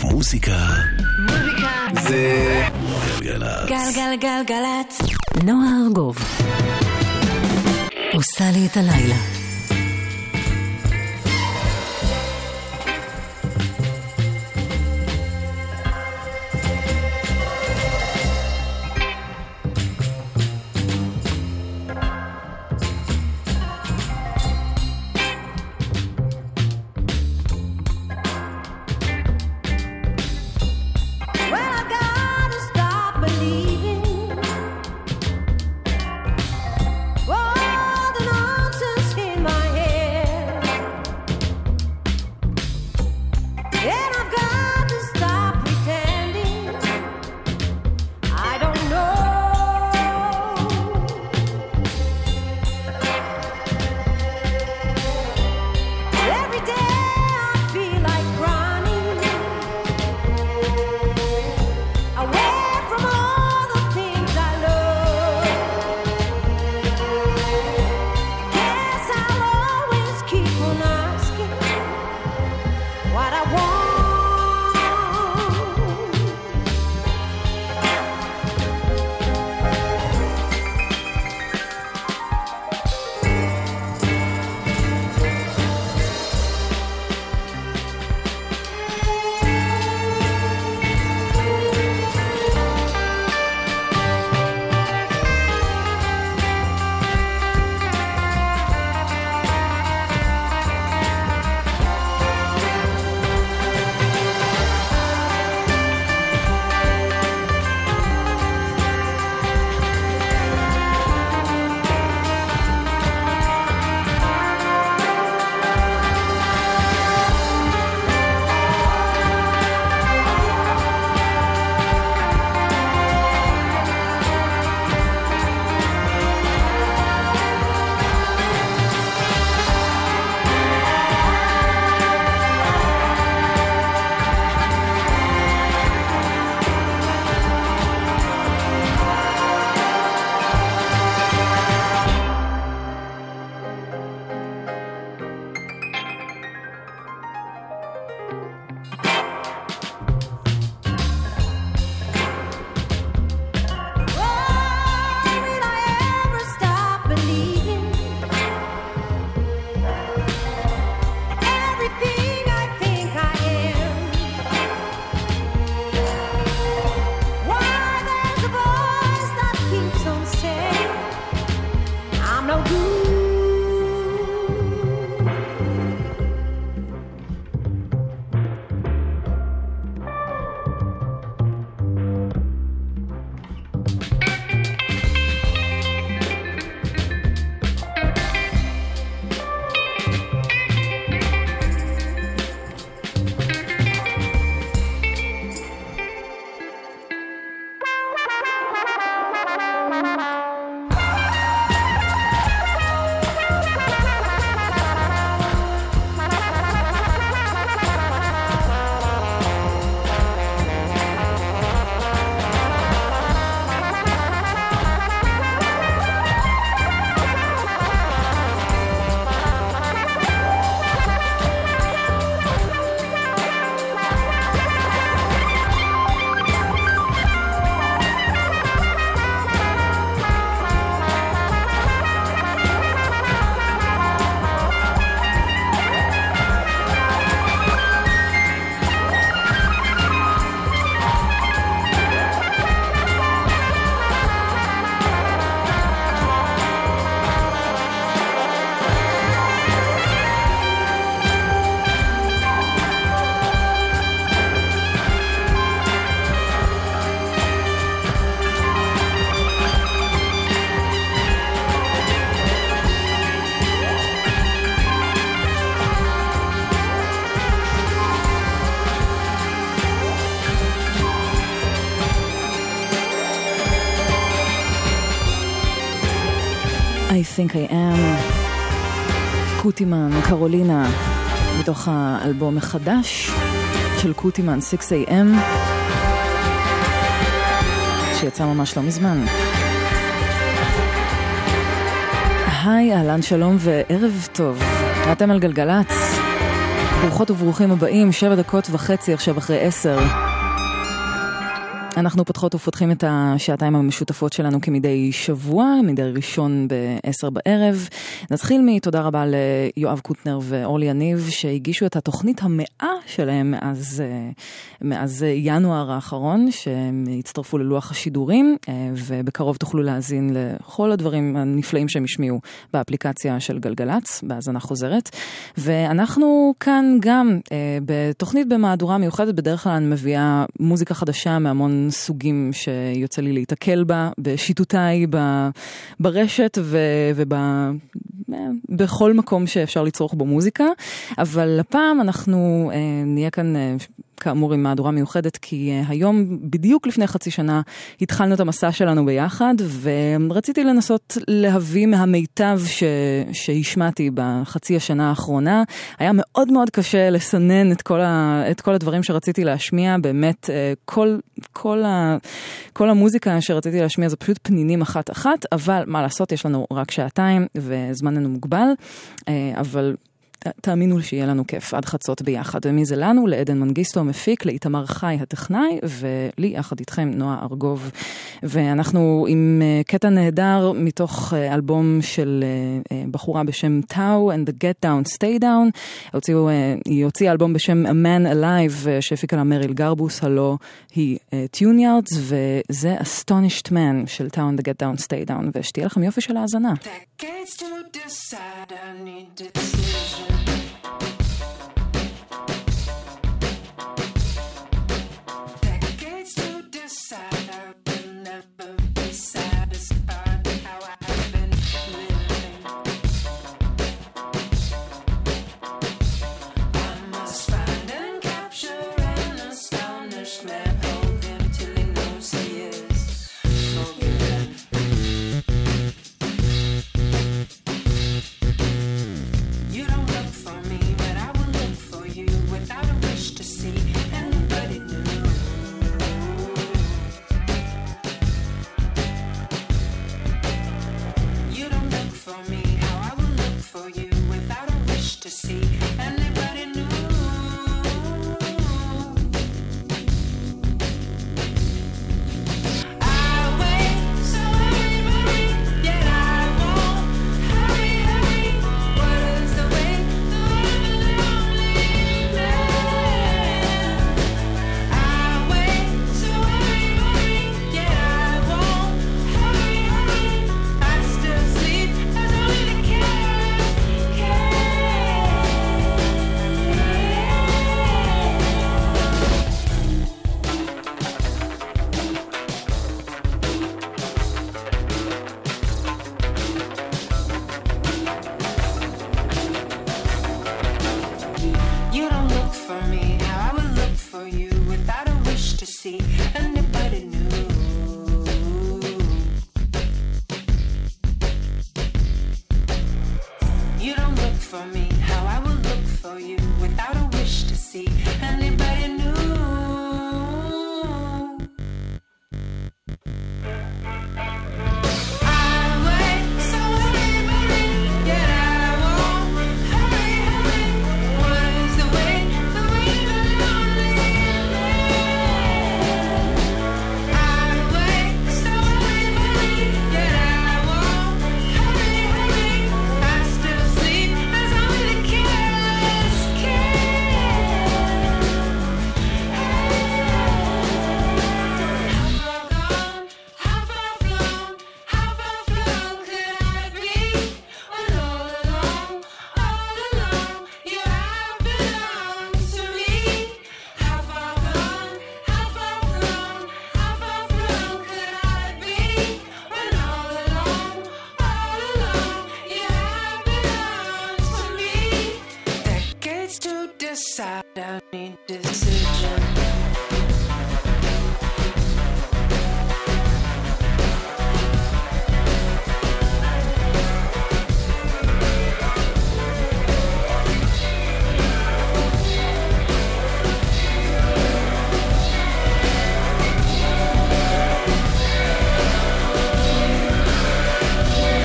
מוזיקה זה גלגלצ. גלגלגלגלצ. נועה ארגוב עושה לי את הלילה. I think I am. קוטימן, קרולינה, מתוך האלבום החדש של קוטימן 6am שיצא ממש לא מזמן. היי, אהלן, שלום וערב טוב. אתם על גלגלץ ברוכות וברוכים הבאים, 7:30 עכשיו אחרי 10. אנחנו פותחות ופותחים את השעתיים המשותפות שלנו כמדי שבוע, מדי ראשון ב-10 בערב. נתחיל מתודה רבה ליואב קוטנר ואורלי יניב שהגישו את התוכנית 100 שלהם מאז ינואר האחרון, שהם הצטרפו ללוח השידורים, ובקרוב תוכלו להאזין לכל הדברים הנפלאים שהם השמיעו באפליקציה של גלגלץ, בהאזנה חוזרת. ואנחנו כאן גם בתוכנית במהדורה מיוחדת, בדרך כלל אני מביאה מוזיקה חדשה מהמון סוגים שיוצא לי להתקל בה, בשיטותיי, ברשת ובכל מקום שאפשר לצרוך בו מוזיקה. אבל הפעם אנחנו נהיה כאן כאמור עם מהדורה מיוחדת, כי היום בדיוק לפני חצי שנה התחלנו את המסע שלנו ביחד, ורציתי לנסות להביא מהמיטב שהשמעתי בחצי השנה האחרונה. היה מאוד מאוד קשה לסנן את כל הדברים שרציתי להשמיע, באמת כל המוזיקה שרציתי להשמיע זה פשוט פנינים אחת, אבל מה לעשות, יש לנו רק שעתיים וזמננו מוגבל, אבל תאמינו שיהיה לנו כיף עד חצות ביחד. ומי זה לנו? לעדן מנגיסטו המפיק, לאיתמר חי הטכנאי, ולי יחד איתכם נועה ארגוב. ואנחנו עם קטע נהדר מתוך אלבום של בחורה בשם טאו and the Get Down Stay Down. היא הוציאה אלבום בשם A Man Alive שהפיקה לה מריל גרבוס, הלא היא Tuneyards, וזה Astonished Man של טאו and the Get Down Stay Down, ושתהיה לכם יופי של האזנה.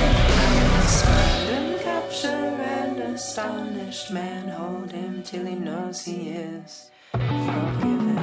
astonished man, hold him till he knows. 'cause he is forgiven.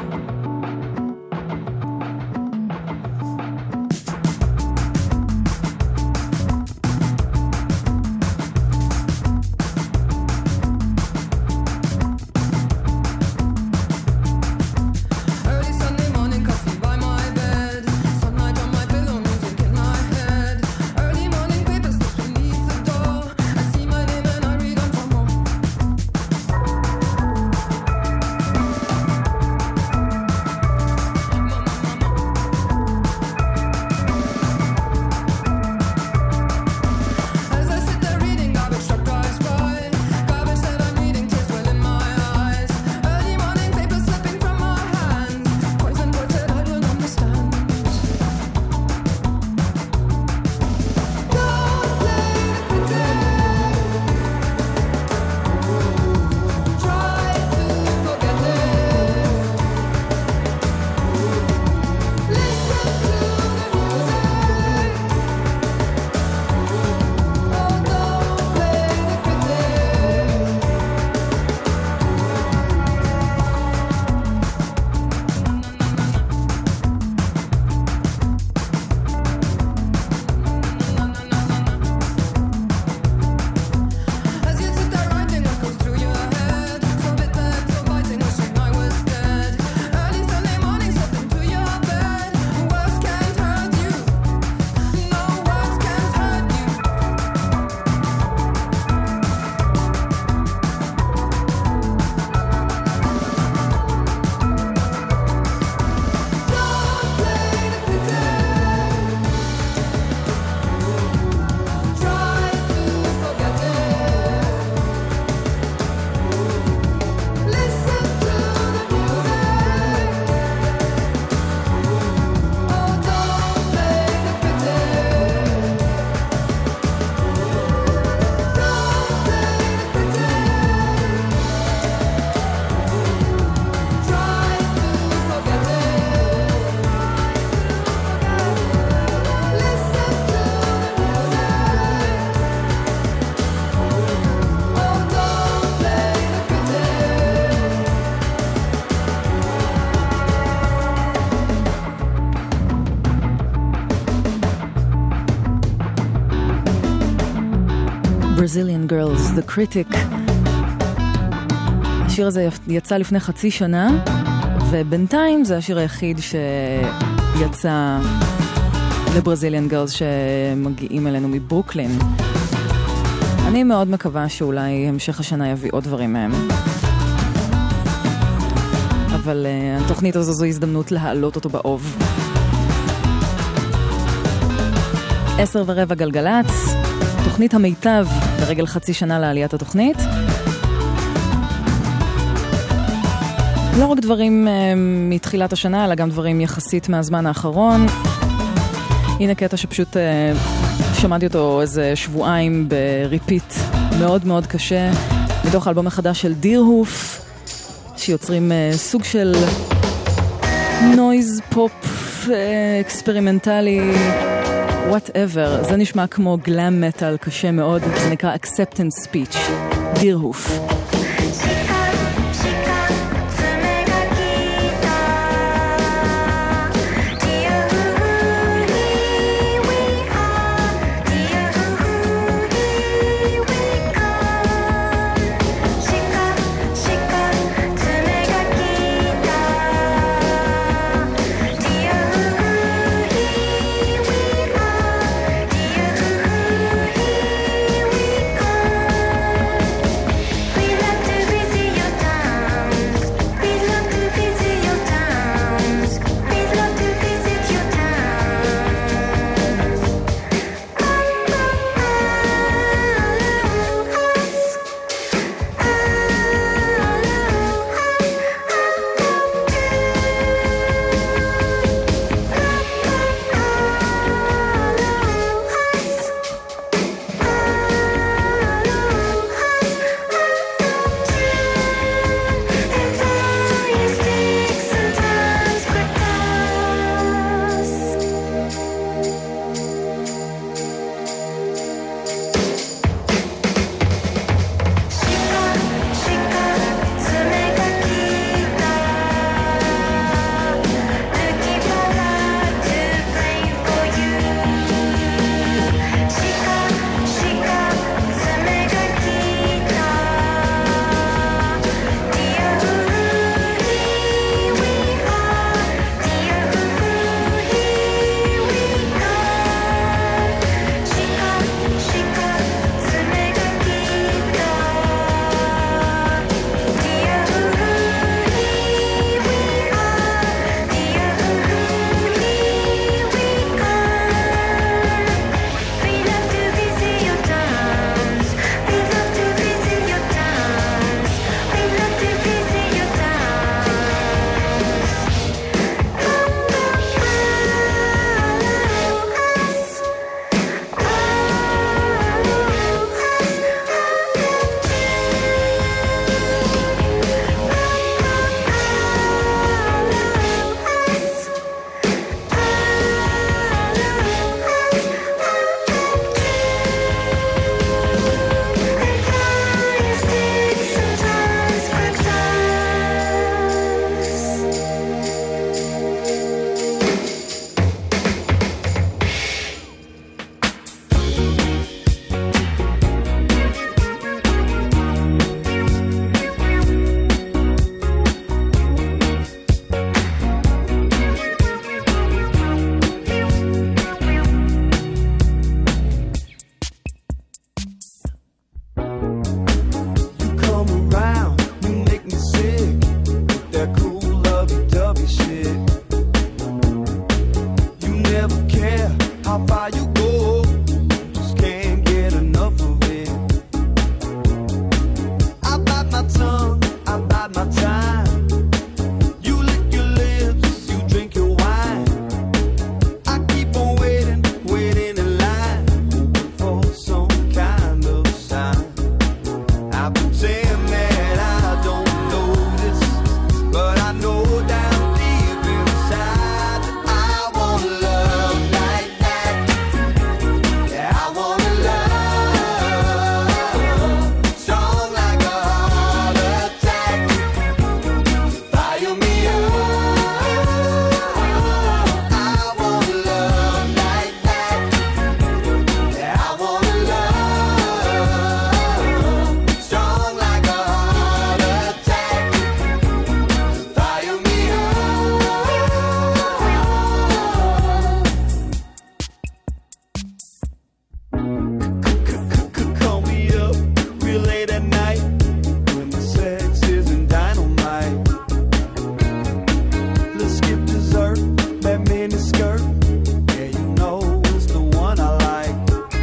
Brazilian Girls, The Critic. השיר הזה יצא לפני חצי שנה, ובינתיים זה השיר היחיד שיצא ל-Brazilian Girls שמגיעים אלינו מברוקלין. אני מאוד מקווה שאולי המשך השנה יביא עוד דברים מהם. אבל התוכנית הזו זו הזדמנות להעלות אותו באוב. 10:15 גלגלץ, תוכנית המיטב ברגל חצי שנה לעליית התוכנית. לא רק דברים מתחילת השנה, אלא גם דברים יחסית מהזמן האחרון. הנה קטע שפשוט שמעתי אותו איזה שבועיים בריפיט מאוד מאוד קשה, מתוך האלבום החדש של דירהוף, שיוצרים סוג של נויז פופ אקספרימנטלי, whatever. זה נשמע כמו גלאם מטל קשה מאוד, זה נקרא Acceptance Speech, דירהוף. We lovey-dovey shit. You never care how far you go, just can't get enough of it. I bite my tongue, I bite my time. You lick your lips, you drink your wine. I keep on waiting, waiting in line, hoping for some kind of sign. I pretend that I don't notice, but I know down deep inside that I wanna love like that. Yeah, I wanna love strong like a heart attack. Fire me up. I wanna love like that. Yeah, I wanna love strong like a heart attack. Fire me up. Call me up real late at night when the sex isn't dynamite. Let's skip dessert, that mini skirt. Yeah, you know it's the one I like.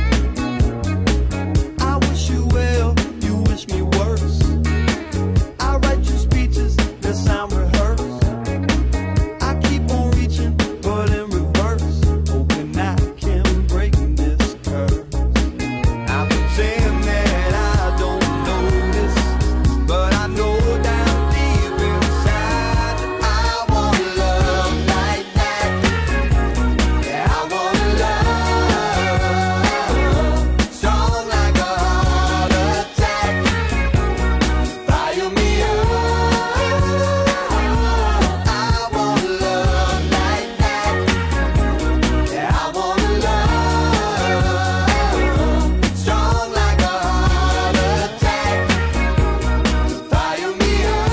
I wish you well, you wish me worse. I write you speeches that sound rehearsed. I keep on reaching, but in reverse, hoping I can break this curse. I pretend that I don't notice, but I know down deep inside that I wanna love like that. Yeah, I wanna love strong like a heart attack. Fire me up. I wanna love like that. Yeah, I wanna love strong like a heart attack. Fire me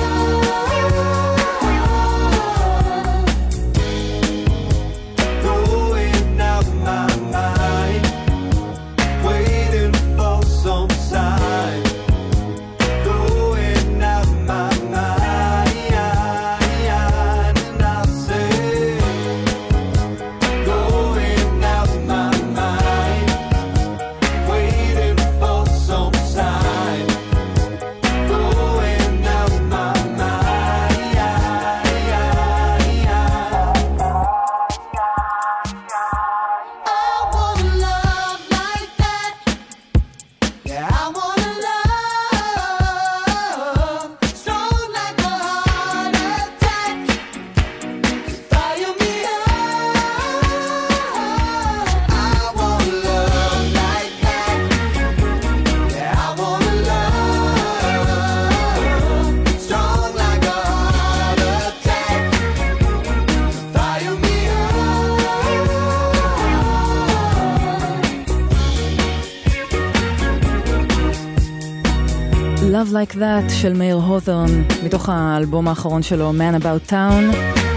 up. Going out my mind, waiting for some sign. Going out my mind, and I say, going out my mind, waiting for some sign. Going out my mind. I wanna love like that. Yeah, I wanna love strong like a heart attack. Fire me up. I wanna love like that. Yeah, I wanna love strong like a heart attack. Fire me Love Like That של מאיר הות'ורן, מתוך האלבום האחרון שלו, Man About Town.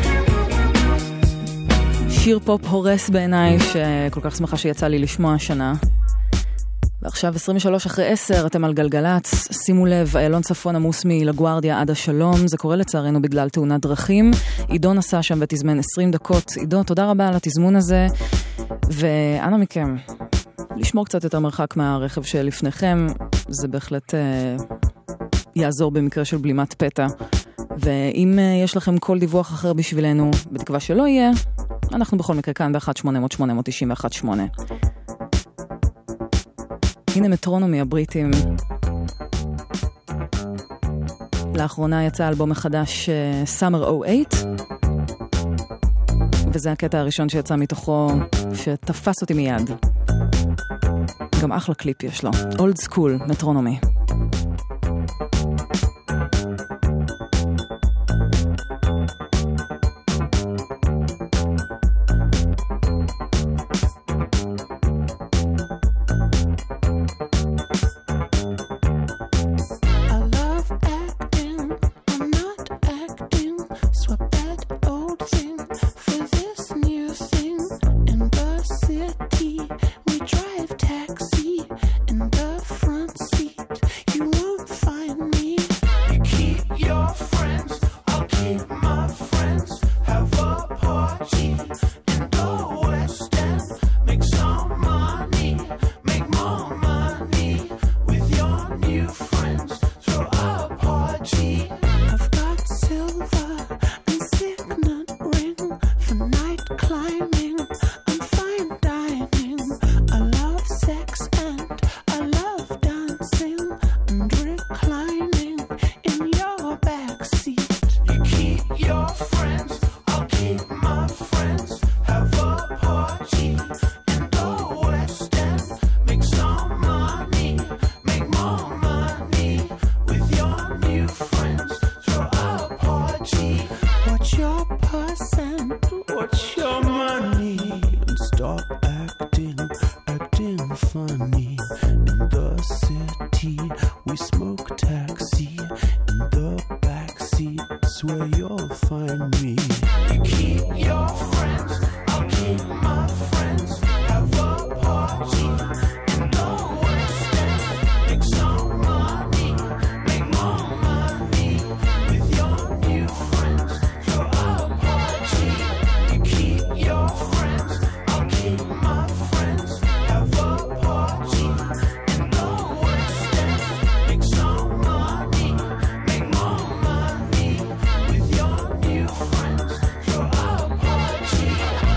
שיר פופ הורס בעיניי, שכל כך שמחה שיצא לי לשמוע השנה. ועכשיו 23:10, אתם על גלגלץ. שימו לב, איילון צפון עמוס מלגוארדיה עד השלום. זה קורה לצערנו בגלל תאונת דרכים. עידו נסע שם ותזמן 20 דקות. עידו, תודה רבה על התזמון הזה. ואנה מכם, לשמור קצת יותר מרחק מהרכב שלפניכם. זה בהחלט יעזור במקרה של בלימת פתע. ואם יש לכם כל דיווח אחר בשבילנו, בתקווה שלא יהיה, אנחנו בכל מקרה כאן ב-1-800-891-8. הנה מטרונומי הבריטים. לאחרונה יצא אלבום מחדש Summer 08, וזה הקטע הראשון שיצא מתוכו שתפס אותי מיד. גם אחלה קליפ יש לו. Old School, מטרונומי. We drive taxi in the front seat. watch your purse and watch your money and stop acting funny. In the city we smoke taxi, in the backseat's where you'll find me. You keep your friends, I'll keep my friends. Have a party in the West End. Make some money, make more money with your new friends. Throw a party. You keep your friends, I'll keep my friends. Have a party in the West End. Make some money, make more money with your new friends. Throw a party.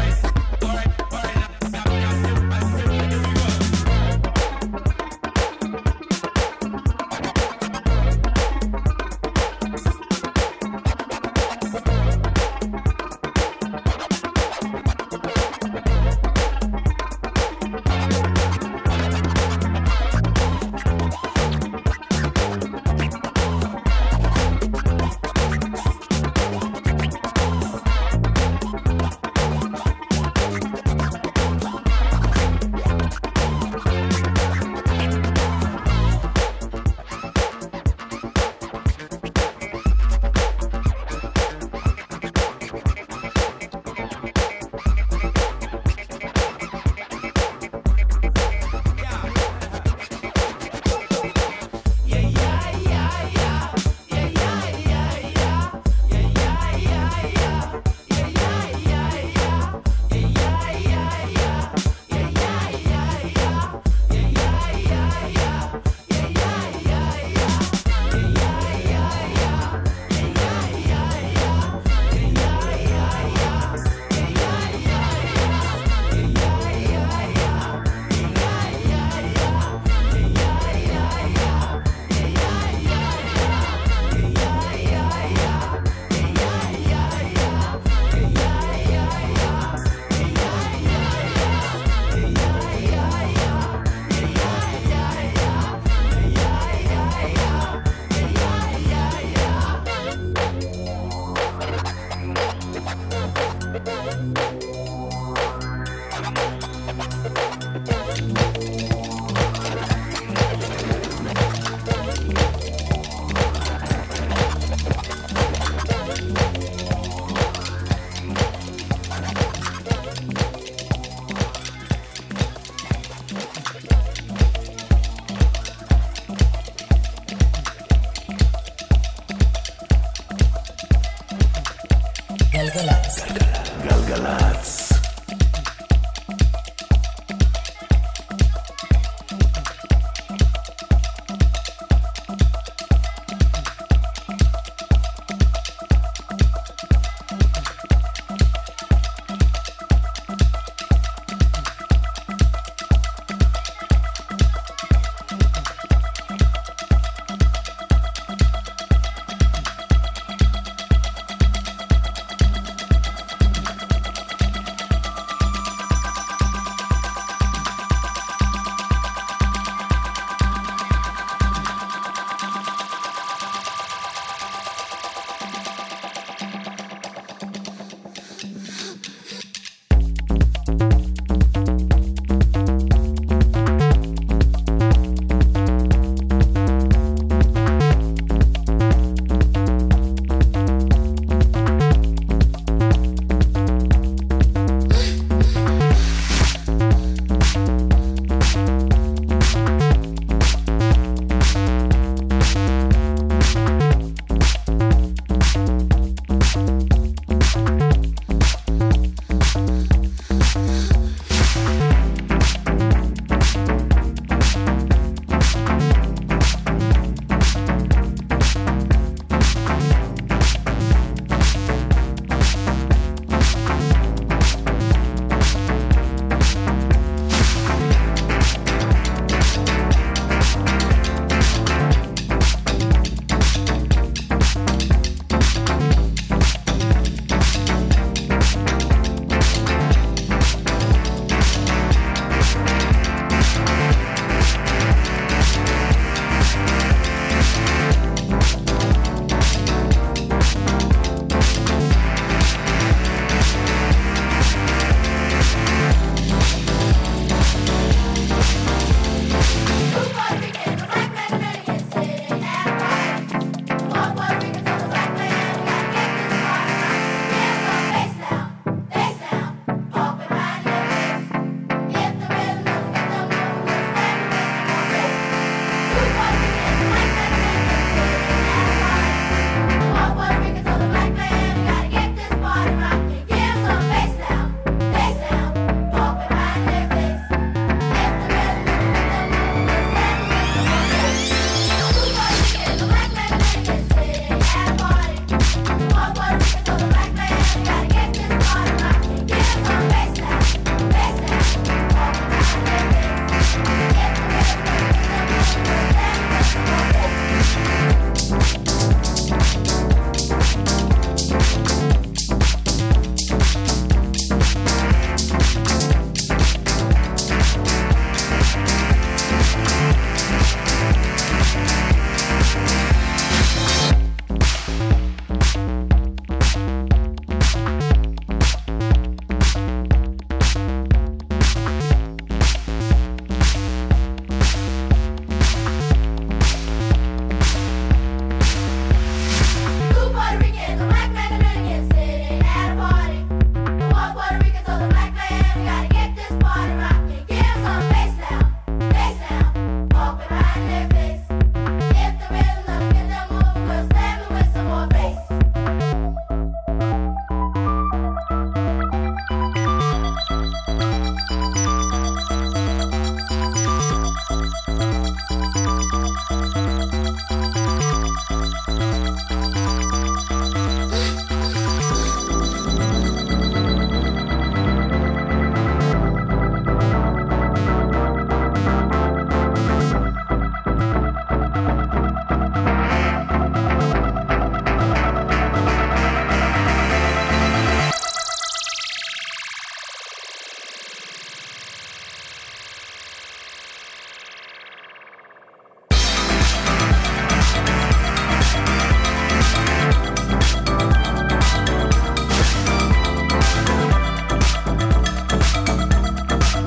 גלגלצ.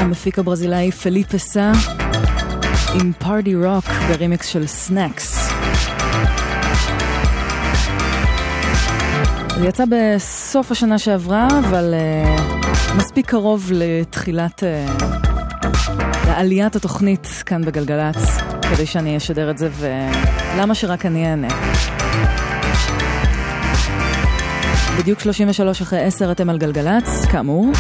המפיק הברזילאי פליפה סא עם פארטי רוק ברימיקס של סנאקס. זה יצא בסוף השנה שעברה, אבל מספיק קרוב לתחילת לעליית התוכנית כאן בגלגלץ, כדי שאני אשדר את זה, ולמה שרק אני אענה. בדיוק 33 אחרי 10 אתם על גלגלץ, כאמור.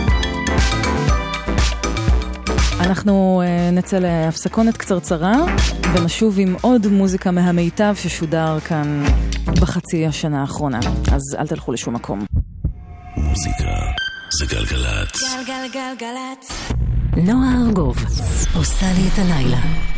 אנחנו נצא להפסקונת קצרצרה, ונשוב עם עוד מוזיקה מהמיטב ששודר כאן בחצי השנה האחרונה. אז אל תלכו לשום מקום. מוזיקה זה גלגלץ. גלגלגלגלץ. נועה ארגוב עושה לי את הלילה.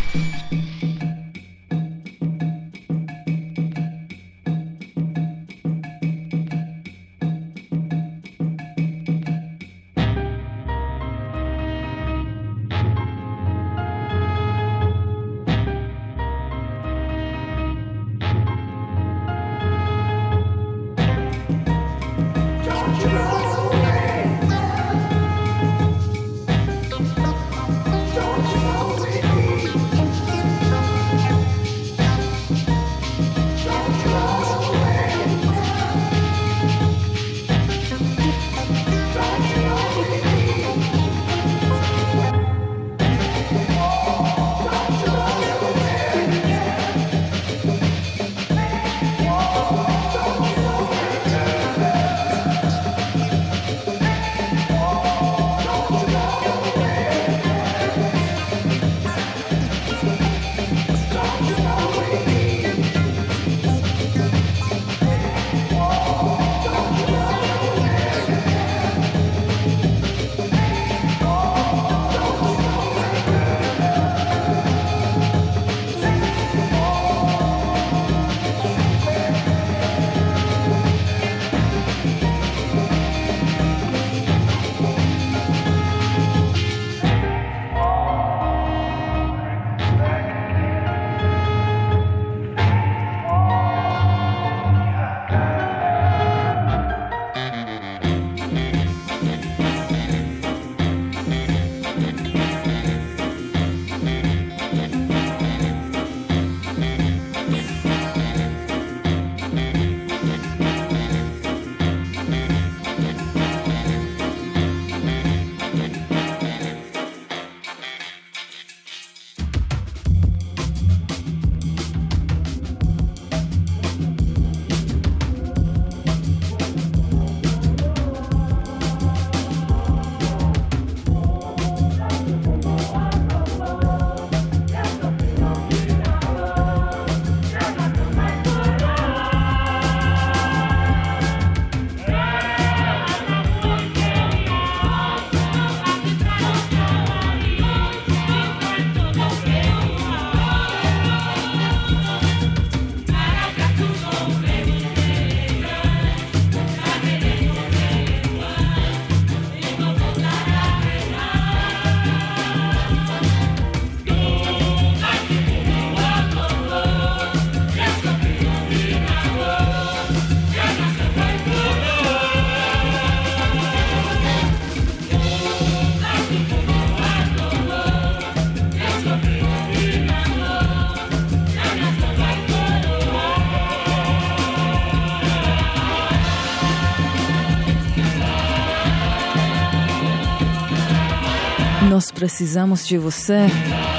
Nos precisamos de você,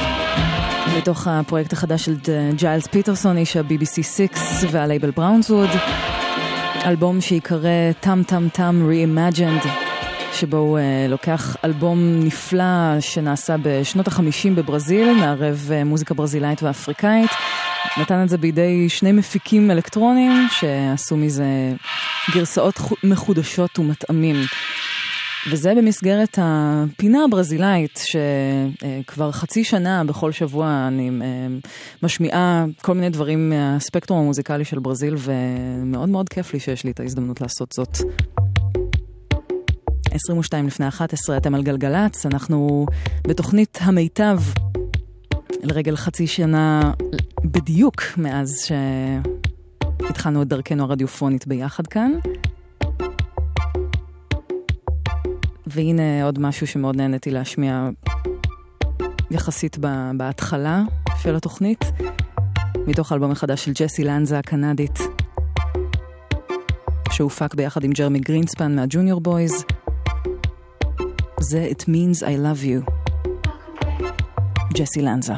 מתוך הפרויקט החדש של ג'יילס פיטרסון, איש ה-BBC 6 והלייבל בראונסווד, אלבום שיקרא טם טם טם Reimagined, שבו הוא לוקח אלבום נפלא שנעשה בשנות ה-50 בברזיל, מערב מוזיקה ברזילאית ואפריקאית, נתן את זה בידי שני מפיקים אלקטרונים שעשו מזה גרסאות מחודשות ומתאמים. וזה במסגרת הפינה הברזילאית שכבר חצי שנה בכל שבוע אני משמיעה כל מיני דברים מהספקטרום המוזיקלי של ברזיל, ומאוד מאוד כיף לי שיש לי את ההזדמנות לעשות זאת. 22 לפני 11 אתם על גלגלץ, אנחנו בתוכנית המיטב לרגל חצי שנה בדיוק מאז שהתחלנו את דרכנו הרדיופונית ביחד כאן. והנה עוד משהו שמאוד נהניתי להשמיע יחסית בהתחלה של התוכנית, מתוך אלבום החדש של ג'סי לנזה הקנדית, שהופק ביחד עם ג'רמי גרינספן מהג'וניור בויז. זה It Means I Love You, ג'סי לנזה.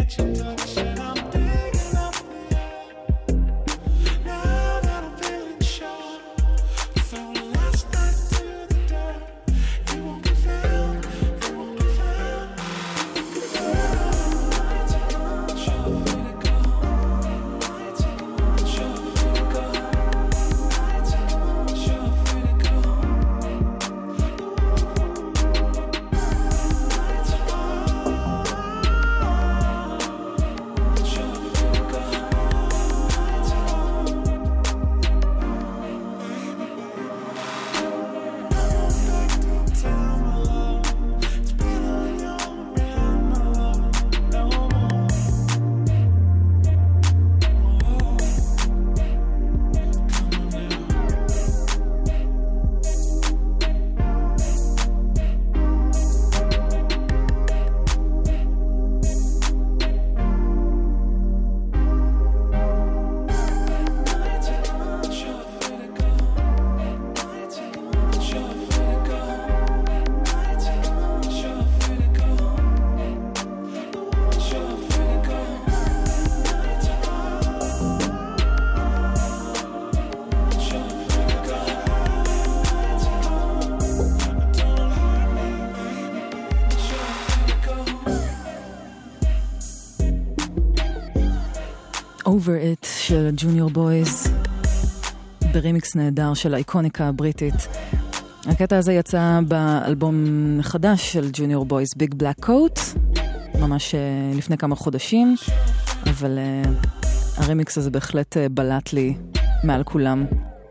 Over It של ג'וניור בויז ברימיקס נהדר של האיקוניקה הבריטית. הקטע הזה יצא באלבום חדש של ג'וניור בויז, ביג בלק קוט, ממש לפני כמה חודשים, אבל הרימיקס הזה בהחלט בלט לי מעל כולם.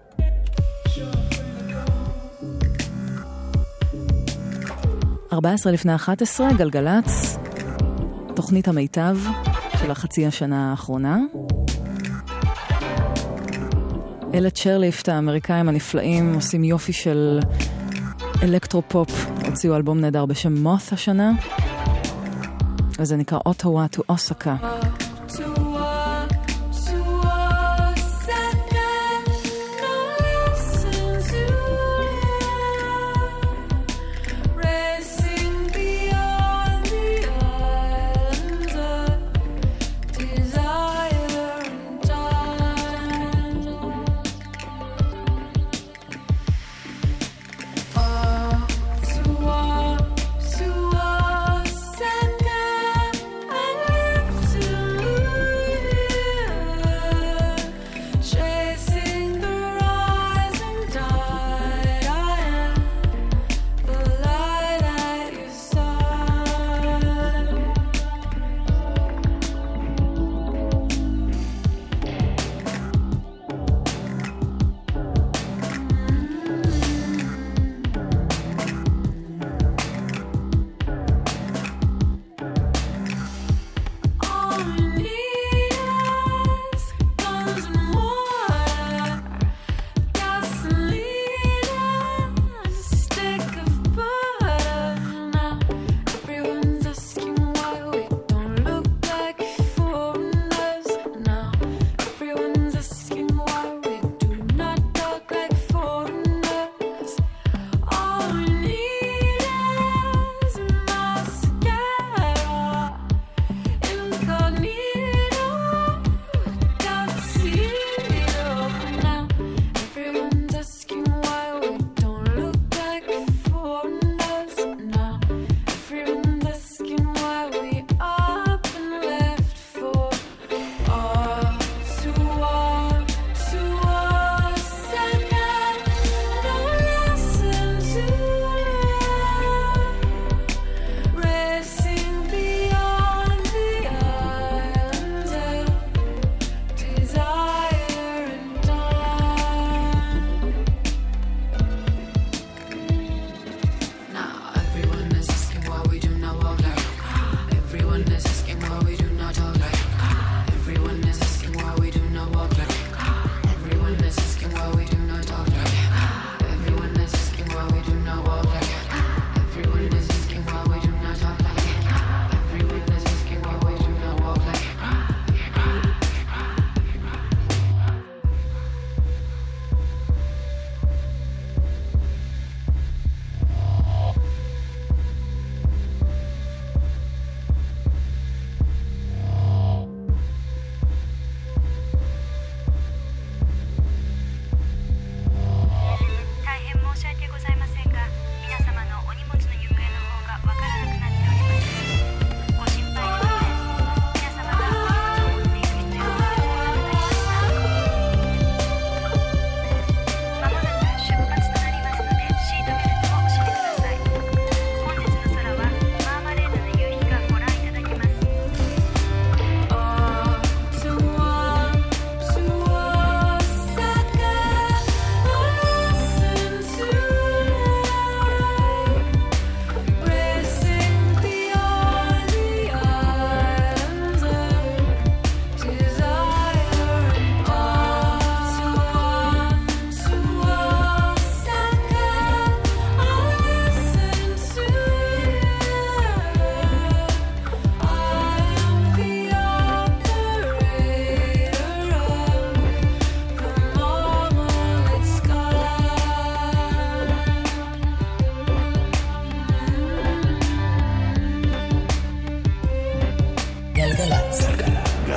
לפני 11, גלגלץ, תוכנית המיטב של החצי השנה האחרונה. אלה צ'רליפט, האמריקאים הנפלאים, עושים יופי של אלקטרו-פופ, הוציאו אלבום נהדר בשם מות השנה, וזה נקרא אוטווה טו אוסקה. To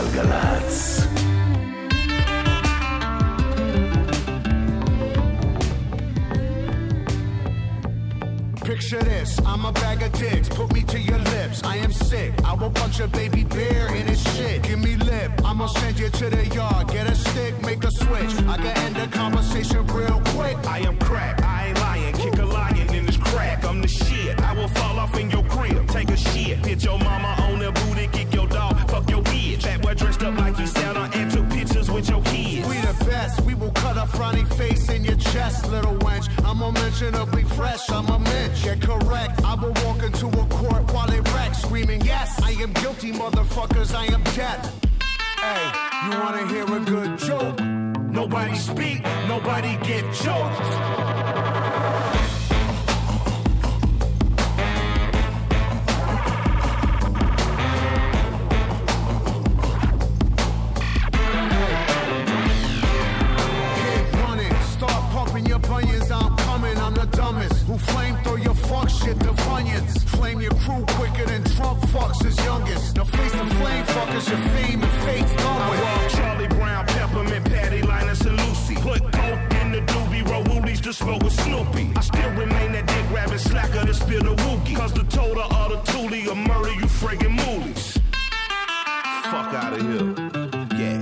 גלגלצ. Picture this, I'm a bag of dicks, put me to your lips, I am sick, I will punch a baby bear in his shit, give me lip, I'ma send you to the yard, get a stick, make a switch, I can end the conversation real quick. I am crack, I ain't lying, kick a lion in this crack, I'm the shit, I will fall off in your crib, take a shit, hit your mama on the booty, kick your dog, fuck your bitch, that boy dressed up like you sat on and took pictures with your kids. We the best, we will cut a frowny face in your chest, little wench, I'm unmentionably fresh, I'm a mensch. Get correct, I will walk into a court while it wrecks, screaming, yes, I am guilty, motherfuckers, I am death. Hey, you wanna hear a good joke? Nobody speak, nobody get choked. Flame throw your fuck shit to Funyuns. Flame your crew quicker than Trump fucks his youngest. Now face the flame fuckers, your fame and fate's done with. I roll Charlie Brown, Peppermint, Patty, Linus, and Lucy. Put coke in the doobie, roll woolies to smoke with Snoopy. I still remain that dick rabbit slacker to spill the wookie. Cause the total of the toolie will murder you friggin' moolies. Fuck out of here. Yeah.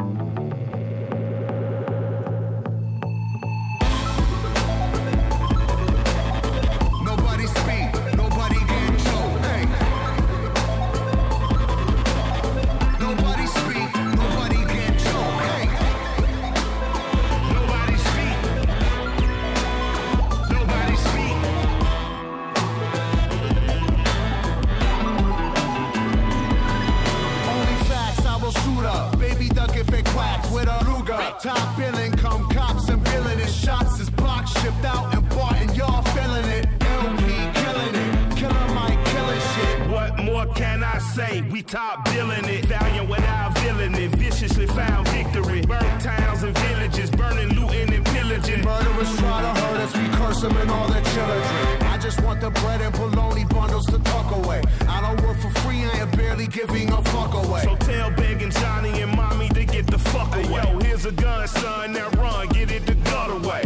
Top billing, come cops and villainous shots is blocked, shipped out and bought, and y'all feeling it. LP killing it, killer Mike killing shit. What more can I say? We top billing it, valiant without villain it, viciously found victory. Burn towns and villages, burning, looting and pillaging. Murderers try to hurt us, we curse them and all their children. I just want the bread and bologna bundles to tuck away. I don't work for free, I am barely giving a fuck away. So tell begging Johnny and mommy to get the fuck away. Yo, here's a gun, son, now run, get it the gut away.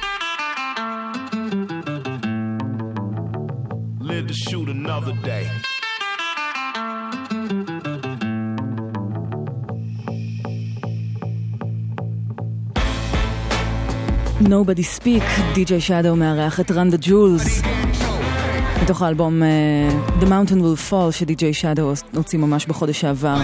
Live to shoot another day. Nobody Speak, DJ Shadow מארח את Run the Jewels מתוך האלבום The Mountain Will Fall שדי.ג'יי Shadow הוציא ממש בחודש שעבר.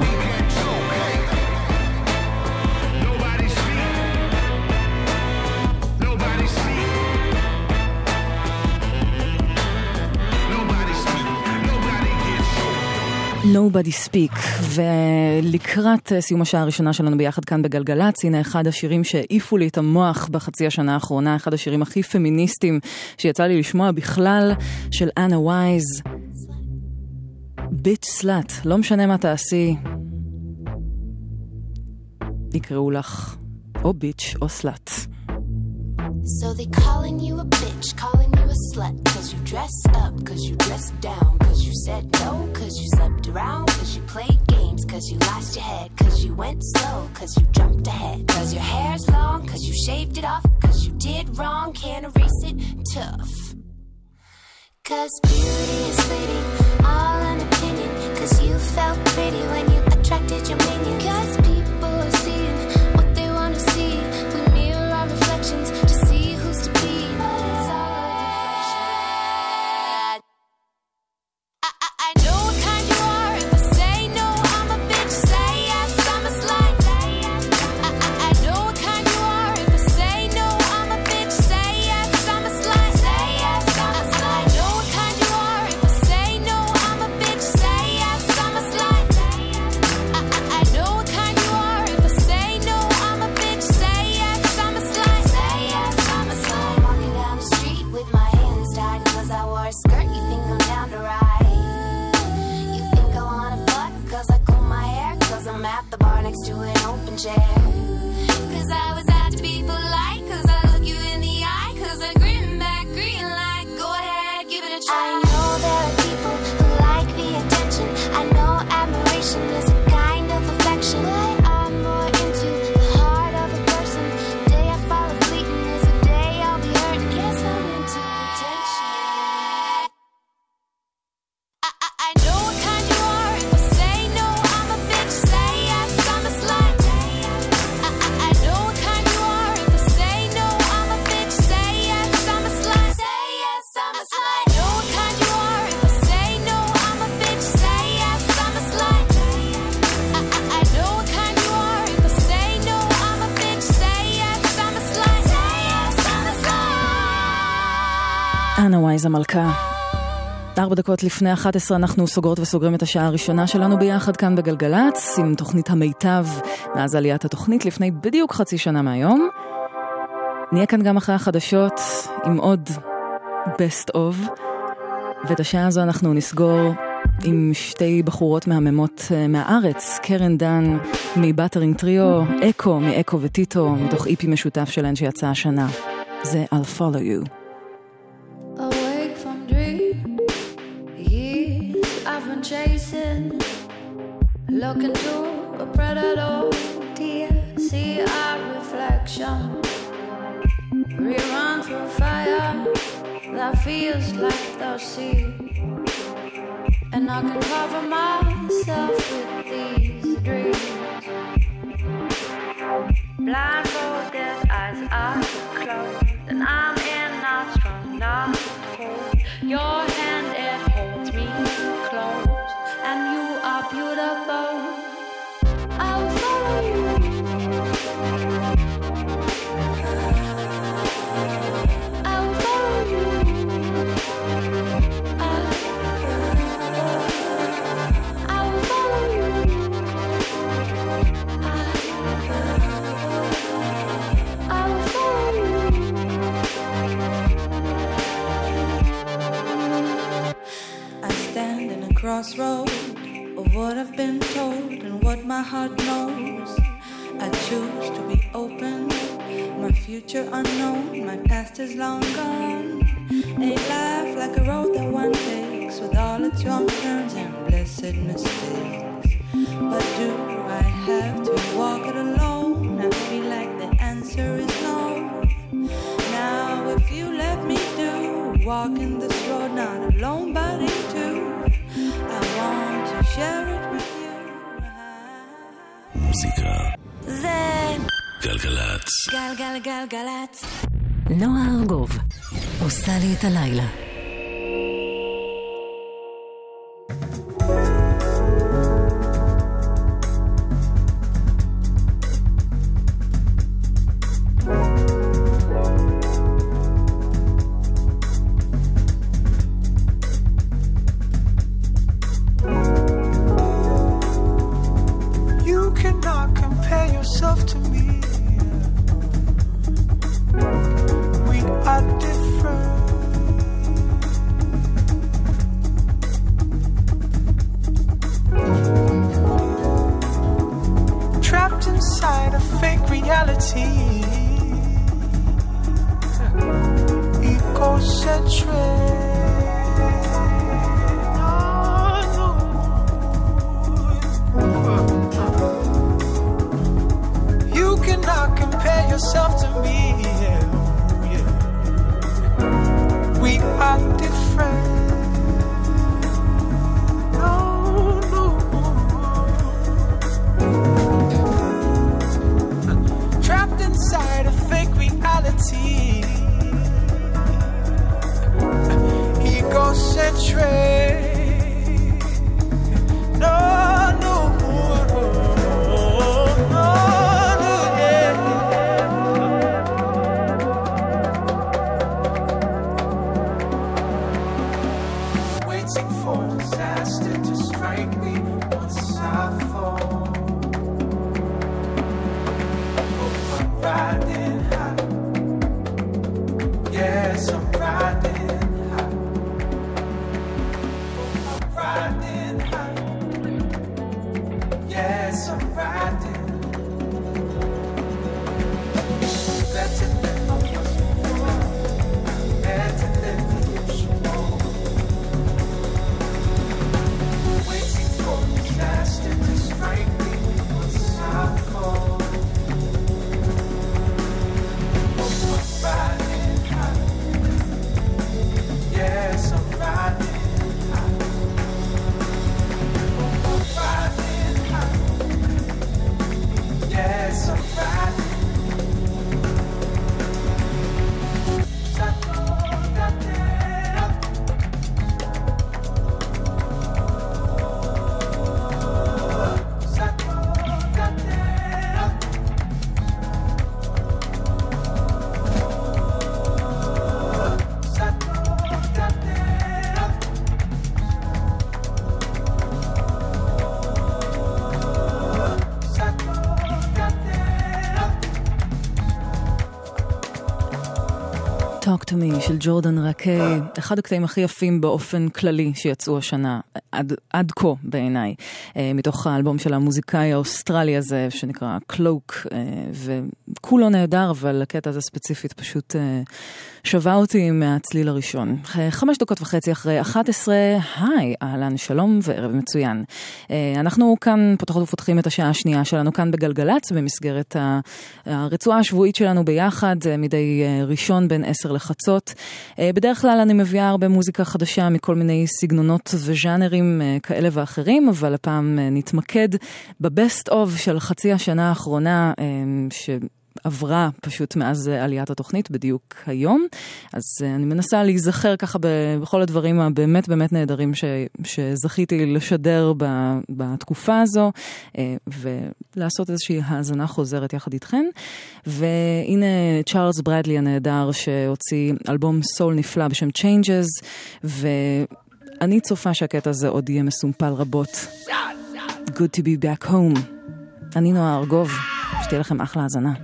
Nobody Speak, ולקראת סיום השעה הראשונה שלנו ביחד כאן בגלגלצ, הנה אחד השירים שהעיפו לי את המוח בחצי השנה האחרונה, אחד השירים הכי פמיניסטיים שיצא לי לשמוע בכלל, של אנה וייז, ביץ' סלאט, לא משנה מה תעשי, יקראו לך או ביץ' או סלאט. So they calling you a bitch, calling you a slut, cause you dressed up, cause you dressed down, cause you said no, cause you slept around, cause you played games, cause you lost your head, cause you went slow, cause you jumped ahead, cause your hair's long, cause you shaved it off, cause you did wrong, can't erase it, tough. Cause beauty is fleeting, all an opinion, cause you felt pretty when you attracted your minions. Cause people are seeing what they wanna see, we mirror our reflections to see who's to be, but it's all a deflection. I know what kind you are, if I say no, I'm a bitch, say yes, I'm a slut. I know what kind you are, if I say no, I'm a bitch, say yes, I'm a slut. Say yes, I'm a slut. I know what kind you are, if I say no, I'm a bitch, say yes, I'm a slut. I know what kind you are, if I say no, I'm a bitch, say yes, I'm a slut. Say yes, I'm a slut. Walking down the street with my hands tied, cause I wore a skirt, you think I'm down to ride. You think I wanna fuck, cause I comb my hair, cause I'm at the bar next to an open chair. Cause I was out to be polite, cause I look you in the eye, cause I grin back green like, go ahead, give it a try. I know there are people who like the attention, I know admiration is a kind of affection, רייזה מלכה. 4 דקות לפני 11 אנחנו סוגרות וסוגרים את השעה הראשונה שלנו ביחד כאן בגלגלץ, עם תוכנית המיטב מאז עליית התוכנית לפני בדיוק חצי שנה מהיום. נהיה כאן גם אחרי החדשות עם עוד best of, ואת השעה הזו אנחנו נסגור עם שתי בחורות מהממות מהארץ, קרן דן מבטרינג טריו, אקו מאקו וטיטו, מתוך איפי משותף שלהן שיצא השנה. זה I'll Follow You. Awake from dream, years I've been chasing, looking to a predator, see our reflection, rerun through fire that feels like the sea, and I can cover myself with these dreams. Blindfolded, eyes are closed, and I'm in, not strong, not cold. Your hand, it holds me close, and you are beautiful. I'll follow you. I'll follow you. I'll follow you. I'll follow you. I stand in a crossroad of what I've been told and what my heart knows. I choose to be open, my future unknown, my past is long gone. A life like a road that one takes with all its wrong turns and blessed mistakes. But do I have to walk it alone? I feel like the answer is no. Now if you let me do, walking this road not alone but in two, I want to share it with you. מוזיקה. זה גלגלץ. גלגלגלגלץ. נועה ארגוב עושה לי את הלילה. To me, we are different. Trapped inside a fake reality, egocentric. Compare yourself to me, yeah, yeah. We are different. No, no. Trapped inside a fake reality, Talk to Me של ג'ורדן רקי, אחד הקטעים הכי יפים באופן כללי שיצאו השנה, עד כה בעיניי, מתוך האלבום של המוזיקאי האוסטרלי הזה שנקרא קלוק, וכולו נהדר, אבל הקטע הזה ספציפית פשוט שווה אותי מהצליל הראשון. 5:30 אחרי 11, היי, אהלן, שלום וערב מצוין. אנחנו כאן פותחות ופותחים את השעה השנייה שלנו כאן בגלגלץ, במסגרת הרצועה השבועית שלנו ביחד, מדי ראשון בין 10 לחצות. בדרך כלל אני מביאה הרבה מוזיקה חדשה מכל מיני סגנונות וז'אנרים כאלה ואחרים, אבל הפעם נתמקד בבסט אוף של חצי השנה האחרונה שעברה פשוט מאז עליית התוכנית בדיוק היום. אז אני מנסה להיזכר ככה בכל הדברים הבאמת באמת נהדרים שזכיתי לשדר בתקופה הזו, ולעשות איזושהי האזנה חוזרת יחד איתכן. והנה צ'ארלס ברדלי הנהדר שהוציא אלבום סול נפלא בשם Changes, ואני צופה שהקטע הזה עוד יהיה מסומפל רבות. Good to be back home. אני נועה ארגוב, שתהיה לכם אחלה האזנה.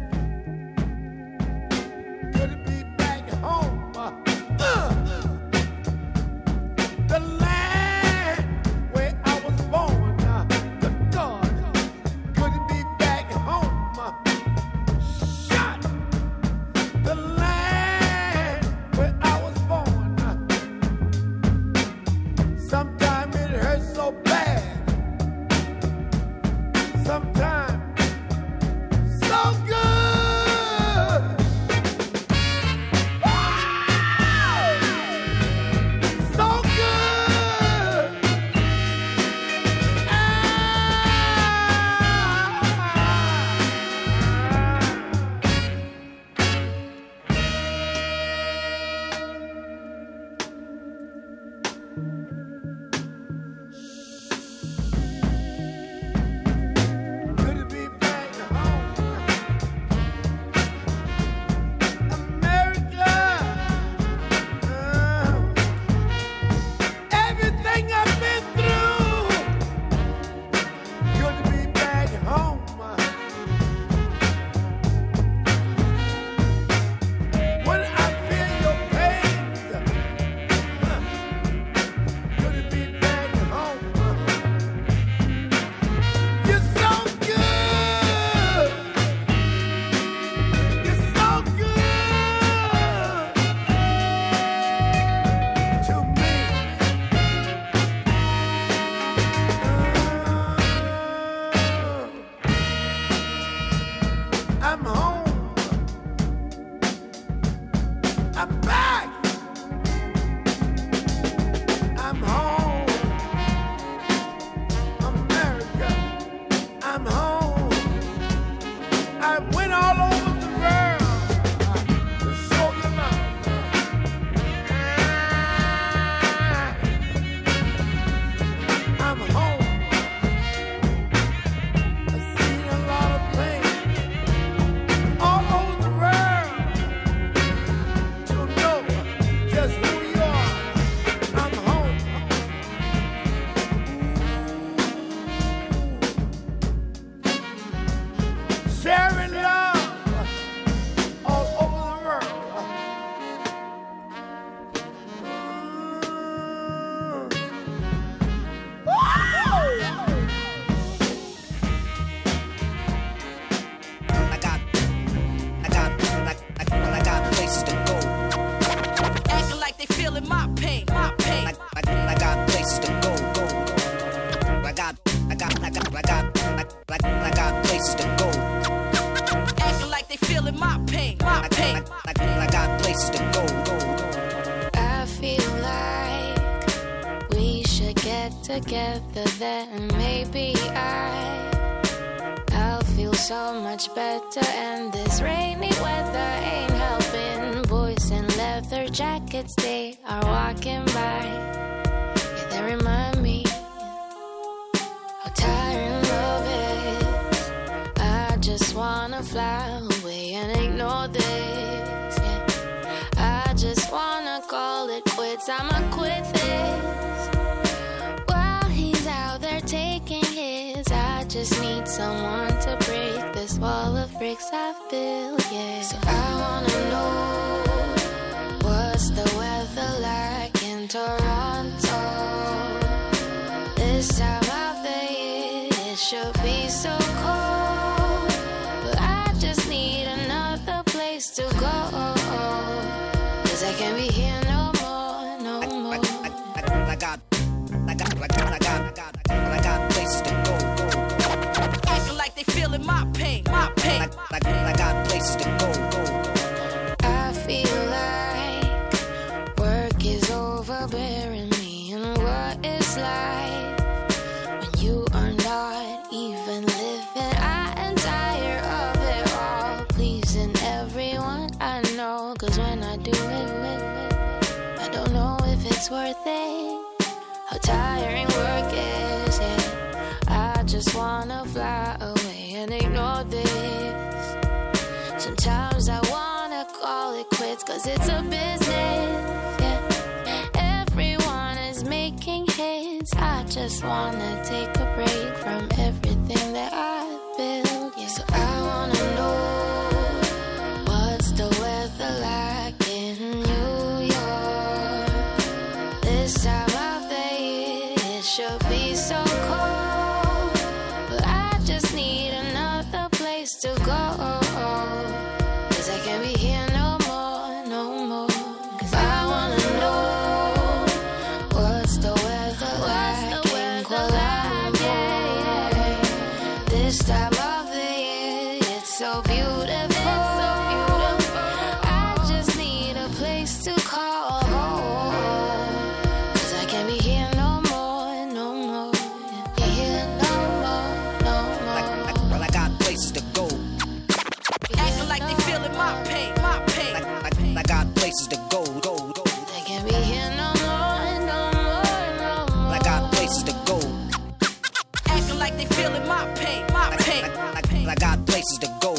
Together then maybe I'll feel so much better, and this rainy weather ain't helping. Boys in leather jackets, they are walking by. Yeah, they remind me how tiring love is. I just wanna fly away and ignore this. Yeah, I just wanna call it quits. I'ma quit this. Taking his, I just need someone to break this wall of bricks I've built, yeah. So I wanna know in Toronto. This time of the year, it should be so cold, but I just need another place to go, 'cause I can't be here no more, no more. I got places to go. Acting like they feeling my pain, my pain. I got places to go. I feel like work is overbearing me, and what it's like when you are not even living. I am tired of it all, pleasing everyone I know, 'cause when I do it, I don't know if it's worth it. How tiring work is, yeah. I just wanna fly away and ignore this. Sometimes I wanna call it quits, 'cause it's a business, yeah. Everyone is making hits. I just wanna take a break from everything that I've built, yeah. So I wanna know, what's the weather like in New York? This time of the year, it should be so cold, but I just need another place to go, 'cause I can't be here no more, no more. 'Cause I wanna know, what's the weather like in Colombia? This time of the year, it's so beautiful. I just need a place to call home, 'cause I can't be here no more, no more. Here no more, no more. Well, I got places to go. Acting like they feeling my pain, my pain. I got places to go. I can't be here no more, no more, no more. I got places to go. Acting like they feeling my pain, my pain. I got places to go.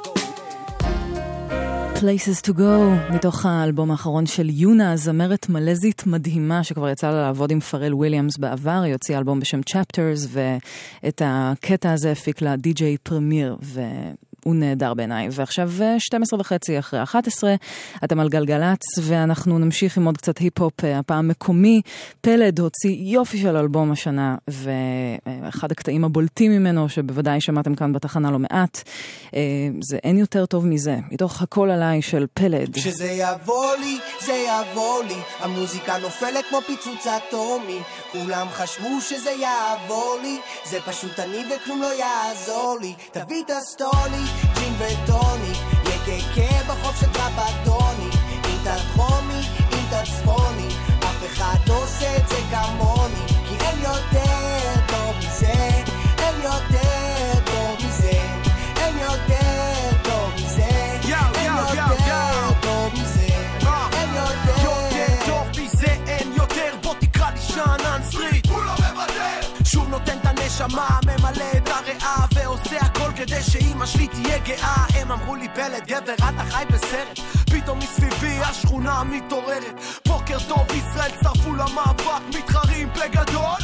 Places to go, מתוך האלבום האחרון של יונה, זמרת מלזית מדהימה שכבר יצאה לה לעבוד עם פרל וויליאמס בעבר. היא הוציאה אלבום בשם Chapters, ואת הקטע הזה הפיק לה די.ג'יי פרמיר, הוא נהדר בעיניי. ועכשיו 12:30 אחרי 11, אתם על גלגלץ, ואנחנו נמשיך עם עוד קצת היפ-הופ, הפעם מקומי. פלד הוציא יופי של אלבום השנה, ואחד הקטעים הבולטים ממנו, שבוודאי שמעתם כאן בתחנה לא מעט, זה אין יותר טוב מזה, מתוך הכל עליי של פלד. כשזה יבוא לי, זה יבוא לי, המוזיקה נופלת כמו פיצוץ אטומי, כולם חשבו שזה יעבור לי, זה פשוט אני וכלום לא יעזור לי, תביא את הסטולי, ג'ין וטוני, יקקה בחוף של טרפטוני, אם תדרומי, אם תצפוני, אף אחד לא עושה את זה כמוני, כי אין יותר טוב מזה, אין יותר טוב מזה, אין יותר טוב מזה, אין יותר טוב מזה, אין יותר טוב מזה, אין יותר, בוא תקרא לי שאנן סטריט, הוא לא מבטל, שוב נותן את הנשמה, ממלא את הריאה ועושה הכל כדי שאמא שלי תהיה גאה. הם אמרו לי פלד גבר אתה חי בסרט, פתאום מסביבי השכונה מתעוררת, בוקר טוב ישראל צרפו למאבק, מתחרים בגדול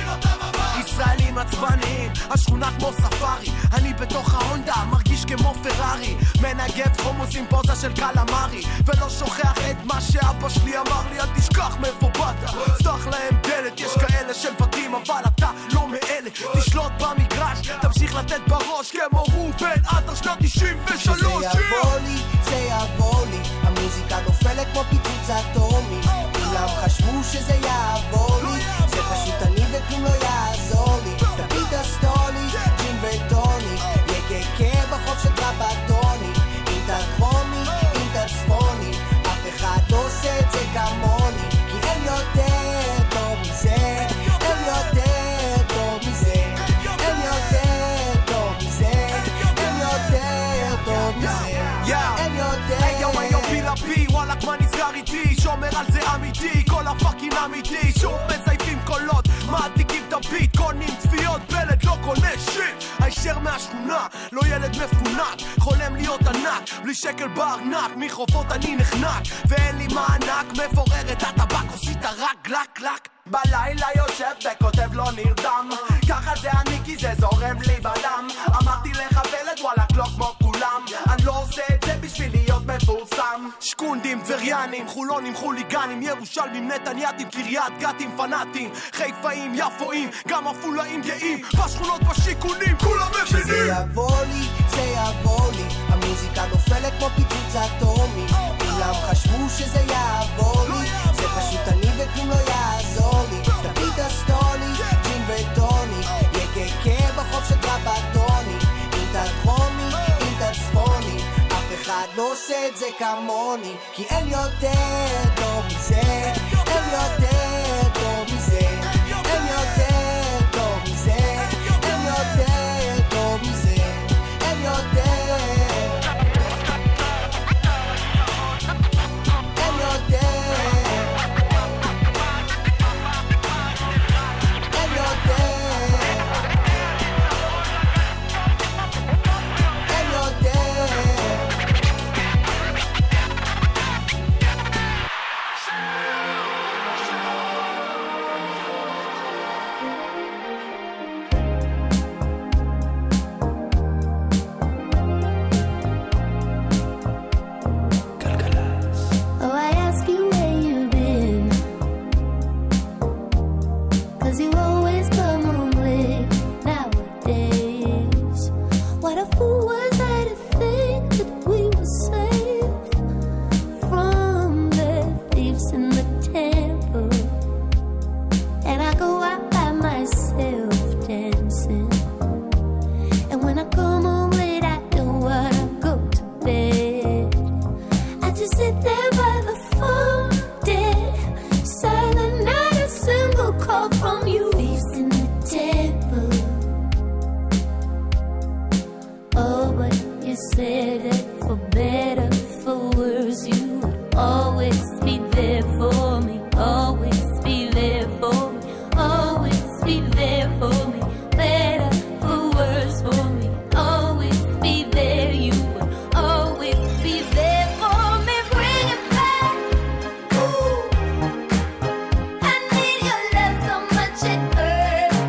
ישראלים עצבניים, השכונה כמו ספארי, אני בתוך ההונדה מרגיש כמו פרארי, מנגב חומוס עם פוזה של קלמרי, ולא שוכח את מה שאבא שלי אמר לי, אל תשכח מאיפה באת, פתח להם דלת, יש כאלה שמבטים אבל אתה לא מאלה, תשלוט במגרש, תמשיך לתת בראש כמו רובן עד שנת 93. זה יבוא לי, זה יבוא לי, המוזיקה נופלת כמו פיצוץ אטומי, כולם חשבו שזה יעבור לי, זה פשוט אני וכלום לא יעזור לי, תביא את הסטולי, ג'ין וטוני, יקקה בחוף של טרפטוני, אם תדרומי, אם תצפוני, אף אחד לא עושה את זה כמוני, כי אין יותר טוב מזה, אין יותר טוב מזה, אין יותר טוב מזה, אין יותר טוב מזה, אין יותר. היום בלעבי, וואלק מה נסגר איתי, שומר על זה אמיתי, כל הפאקינג אמיתי, שוב מזייפים קולות, מעתיקים את הביט, קונים צפיות, פלד לא קונה שיט, הישר מהשכונה, לא ילד מפונק, חולם להיות ענק, בלי שקל בארנק, מחופות אני נחנק, ואין לי מענק, מפורר את הטבק, עושית רק גלק גלק, בלילה יושב וכותב לא נרדם, ככה זה אני כי זה זורם לי בדם, אמרתי לך פלד וואלק לא כמו כולם, אני לא עושה את זה בשביל להיות מפורסם, שקונדי יהודים, טבריאנים, חולונים, חוליגנים, ירושלמים, נתנייתים, קריית גתים, פנאטים, חיפאים, יפואים, גם אפולאים גאים, בשכונות בשיכונים, כולם מבינים. כשזה יבוא לי, זה יבוא לי, המוזיקה נופלת כמו פיצוץ אטומי, כולם חשבו שזה יעבור לי, זה פשוט אני וכלום לא יעזור לי, תביא את הסטולי, ג'ין וטוני, יקקה בחוף של טרבטוני, אם תדרומי, אם תצפוני, אף אחד לא עושה את זה כמוני, כי אין יותר טוב מזה, אין יותר טוב מזה, אין יותר טוב מזה, אין יותר טוב מזה, אין יותר, אין יותר, אין יותר, אין יותר. Oh, I ask you where you've been, 'cause you always come home late nowadays. What a fool was I to think that we were safe from the thieves in the temple. And I go out by myself dancing, and when I come home late I don't wanna go to bed. I just sit there by the phone, dead, silent, not a single call from you. Thieves in the temple. Oh, but you said that for better, for worse, you would always be there for me, always be there for me, always be there for me, better, for worse, for me, always be there, you would always be there for me. Bring it back, ooh, I need your love so much it hurts.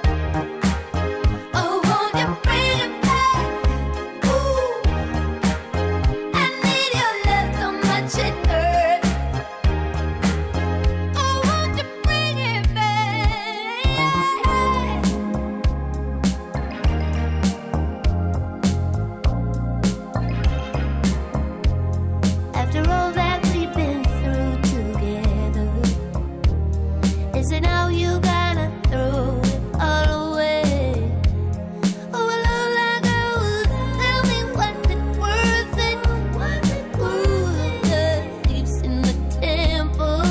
Oh, won't you bring it back, ooh, I need your love so much it hurts. Oh, won't you bring it back. After all that we've been through together, is it now you gotta throw it all away? Oh, well, all I got was tell me, was it worth it? Was it worth it? The thieves in the temple.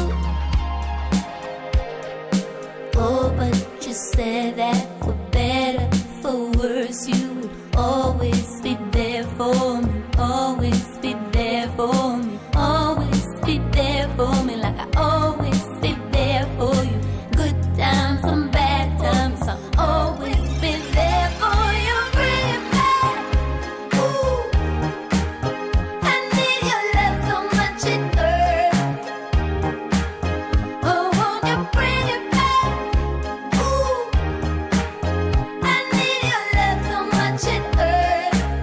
Oh, but you said that for better, for worse, you would always be there for me, always be there for me, always be there for me, like I always be there for you. Good times and bad times, I'll always be there for you. Bring it back, ooh, I need your love so much it hurts. Oh, won't you bring it back, ooh, I need your love so much it hurts.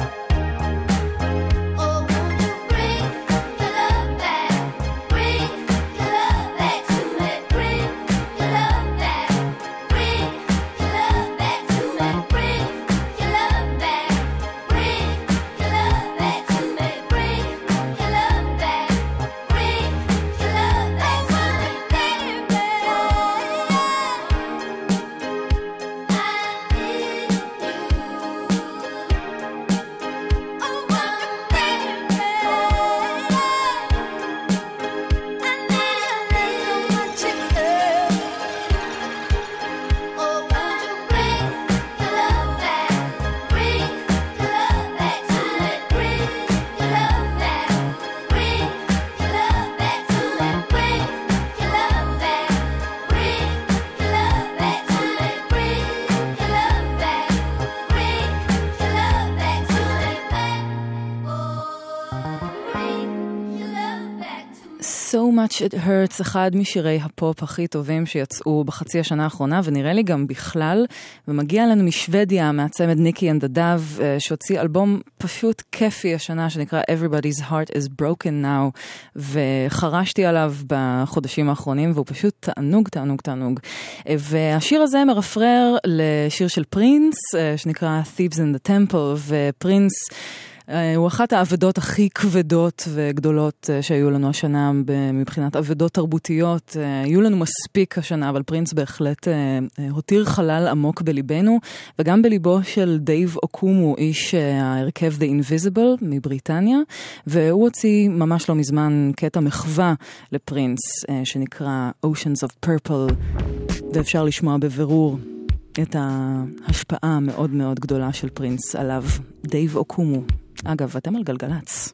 So Much It Hurts, אחד משירי הפופ הכי טובים שיצאו בחצי השנה האחרונה, ונראה לי גם בכלל, ומגיע לנו משוודיה, מהצמד ניקי אנד הדב, שהוציא אלבום פשוט כיפי השנה, שנקרא Everybody's Heart is Broken Now, וחרשתי עליו בחודשים האחרונים, והוא פשוט תענוג, תענוג, תענוג. והשיר הזה מרפרר לשיר של פרינס, שנקרא Thieves in the Temple, ופרינס הוא אחת העבדות הכי כבדות וגדולות שהיו לנו השנה מבחינת עבדות תרבותיות. היו לנו מספיק השנה, אבל פרינס בהחלט הותיר חלל עמוק בליבנו, וגם בליבו של דייב אוקומו, איש ההרכב The Invisible מבריטניה, והוא הוציא ממש לא מזמן קטע מחווה לפרינס, שנקרא Oceans of Purple, ואפשר לשמוע בבירור את ההשפעה המאוד מאוד גדולה של פרינס עליו, דייב אוקומו. אגב, אתם על גלגלץ.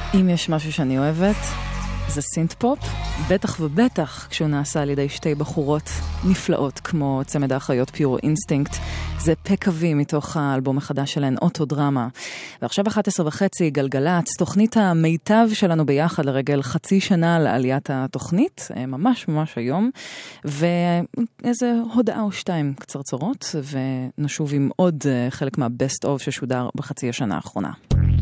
אם יש משהו שאני אוהבת, זה סינט פופ, בטח ובטח כשהוא נעשה על ידי שתי בחורות נפלאות כמו צמד האחיות פיור אינסטינקט. זה פקווי מתוך האלבום החדש שלהן, אוטודרמה. ועכשיו 11:30 גלגלץ, תוכנית המיטב שלנו ביחד לרגל חצי שנה לעליית התוכנית, ממש ממש היום, ואיזה הודעה או שתיים קצרצרות, ונשוב עם עוד חלק מהבסט אוף ששודר בחצי השנה האחרונה.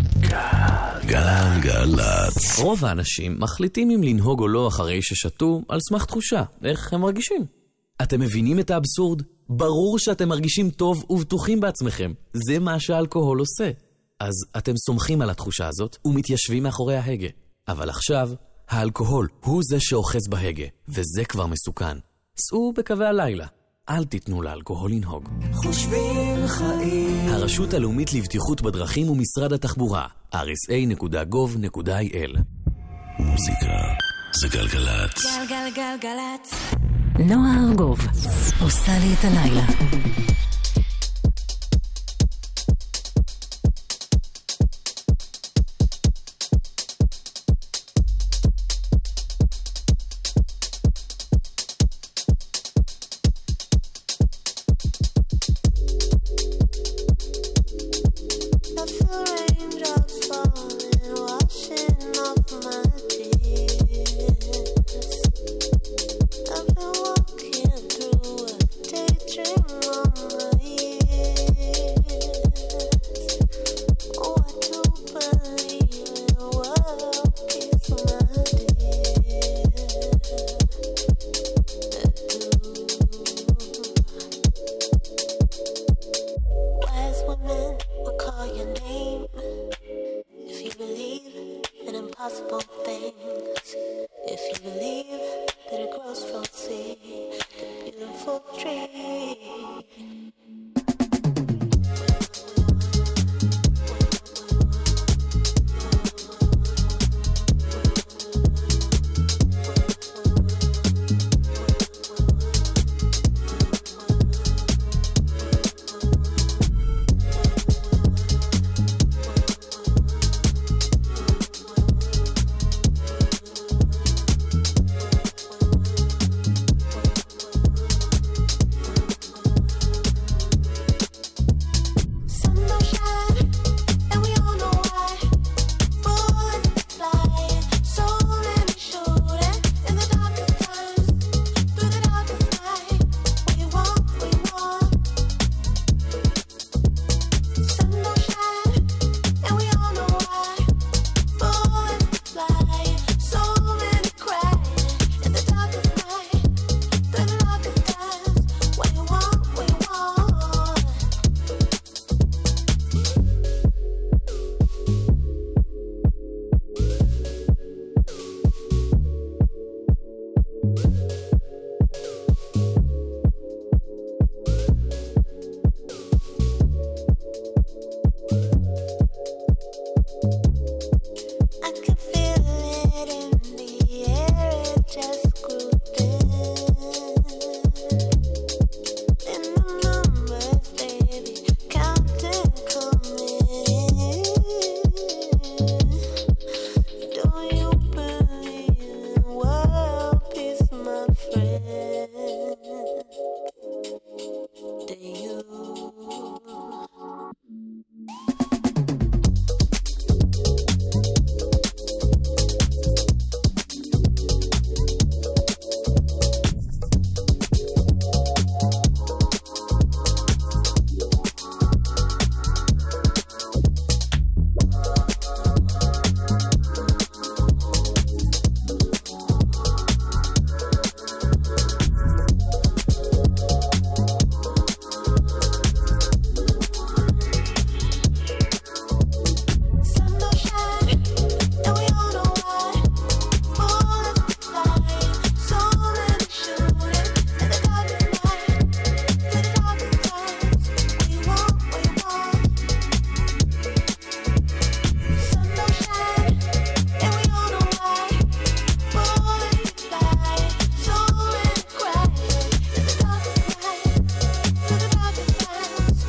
גלגלצ. רוב האנשים מחליטים אם לנהוג או לא אחרי ששתו על סמך תחושה, איך הם מרגישים. אתם מבינים את האבסורד? ברור שאתם מרגישים טוב ובטוחים בעצמכם. זה מה שהאלכוהול עושה. אז אתם סומכים על התחושה הזאת ומתיישבים מאחורי ההגה. אבל עכשיו, האלכוהול הוא זה שאוחז בהגה, וזה כבר מסוכן. סעו בקווי הלילה. אל תיתנו לאלכוהול לנהוג. חושבים חיים. הרשות הלאומית לבטיחות בדרכים ומשרד התחבורה, rsa.gov.il. מוזיקה זה גלגלצ. גלגלגלגלצ. נועה ארגוב עושה לי את הלילה.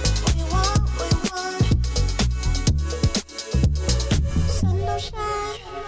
shine.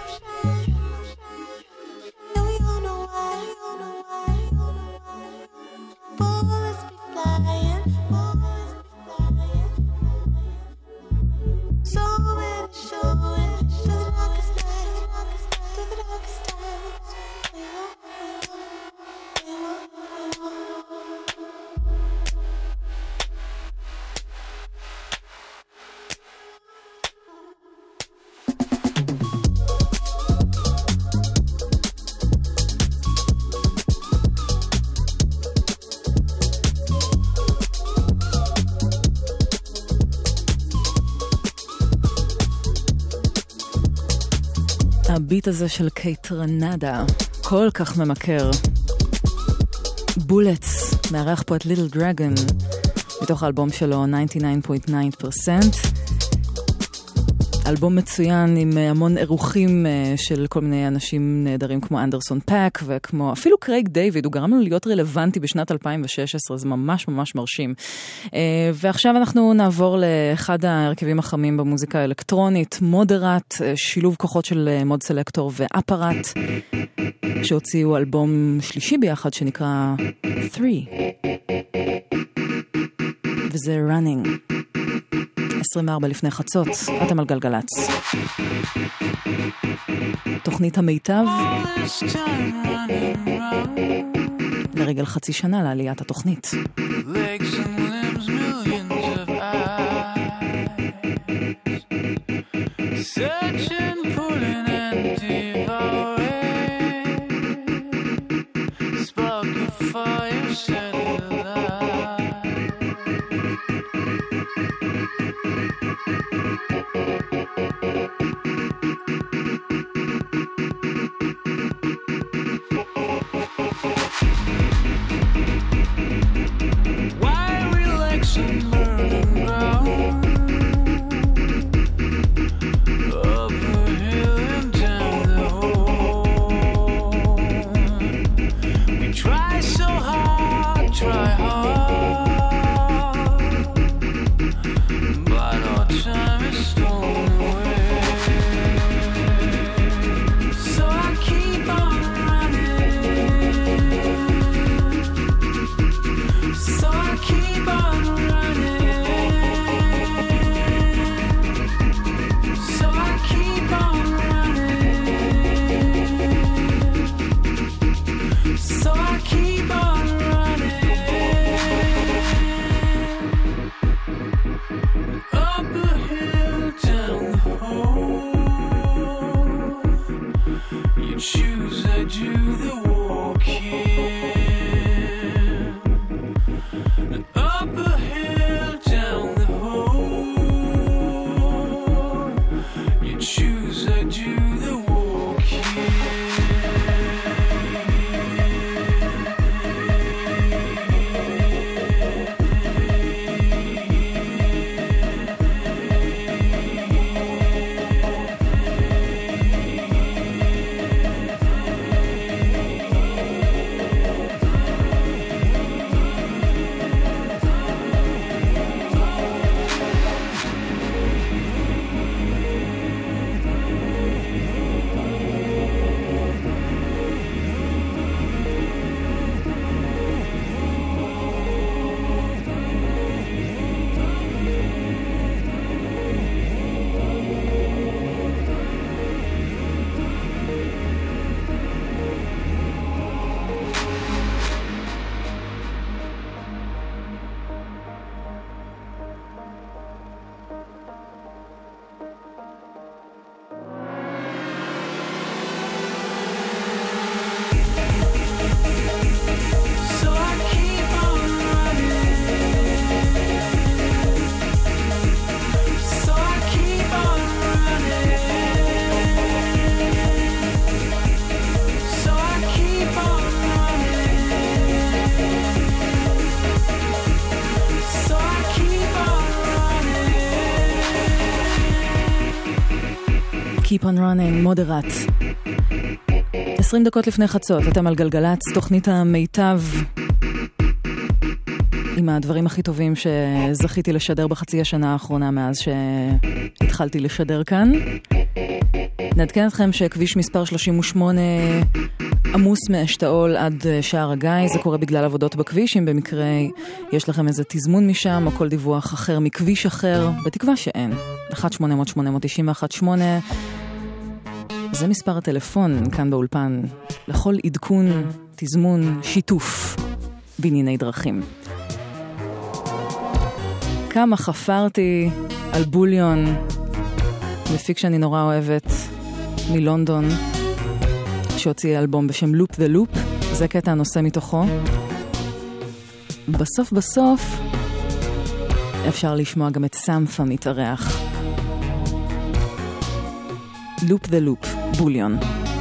הביט הזה של קייטרנדה, כל כך ממכר. בולטס, מארח פה את ליטל דרגון, מתוך האלבום שלו 99.9%. אלבום מצוין עם המון אירוחים של כל מיני אנשים נהדרים כמו אנדרסון פאק וכמו אפילו קרייג דיוויד, הוא גרם לנו להיות רלוונטי בשנת 2016, זה ממש ממש מרשים. ועכשיו אנחנו נעבור לאחד ההרכבים החמים במוזיקה האלקטרונית, מודרט, שילוב כוחות של מוד סלקטור ואפרט, שהוציאו אלבום שלישי ביחד שנקרא 3. וזה Running. 24 לפני חצות, אתם על גלגלץ. תוכנית המיטב לרגל חצי שנה לעליית התוכנית. Keep on running, מודרט. 20 דקות לפני חצות, אתם על גלגלץ, תוכנית המיטב עם הדברים הכי טובים שזכיתי לשדר בחצי השנה האחרונה מאז שהתחלתי לשדר כאן. נעדכן אתכם שכביש מספר 38 עמוס מאשתאול עד שער הגיא, זה קורה בגלל עבודות בכביש, אם במקרה יש לכם איזה תזמון משם או כל דיווח אחר מכביש אחר, בתקווה שאין. 1-800-891-8 זה מספר הטלפון כאן באולפן לכל עדכון, תזמון, שיתוף בענייני דרכים. כמה חפרתי על בוליון, מפיק שאני נורא אוהבת מלונדון, שהוציא אלבום בשם לופ ולופ, זה קטע הנושא מתוכו. בסוף אפשר לשמוע גם את סמפה מתארח. לופ דה לופ, בוליון.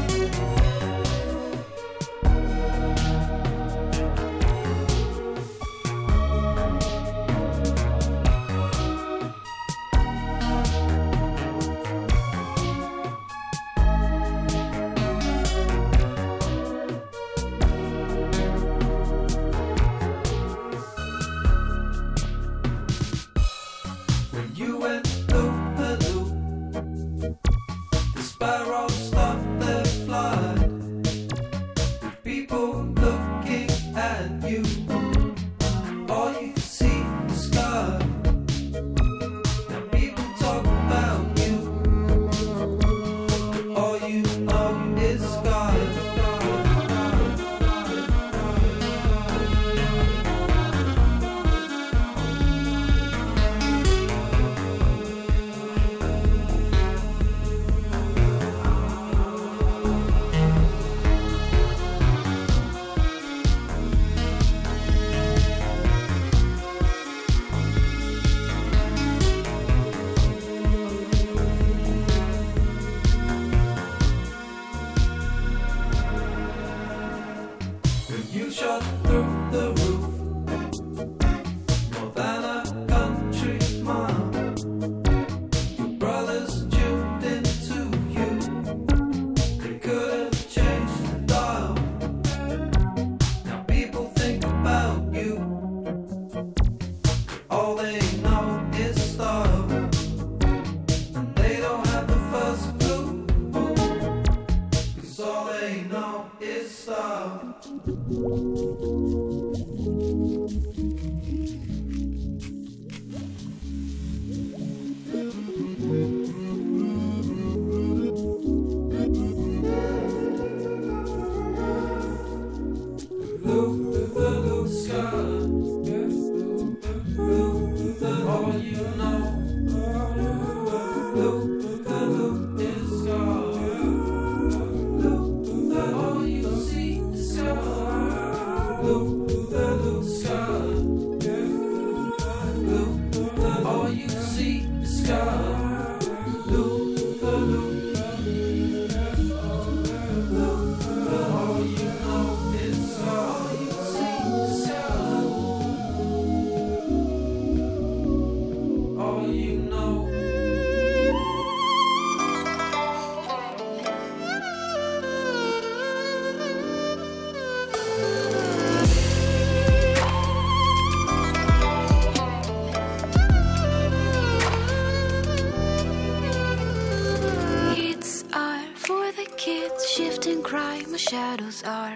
Shadows are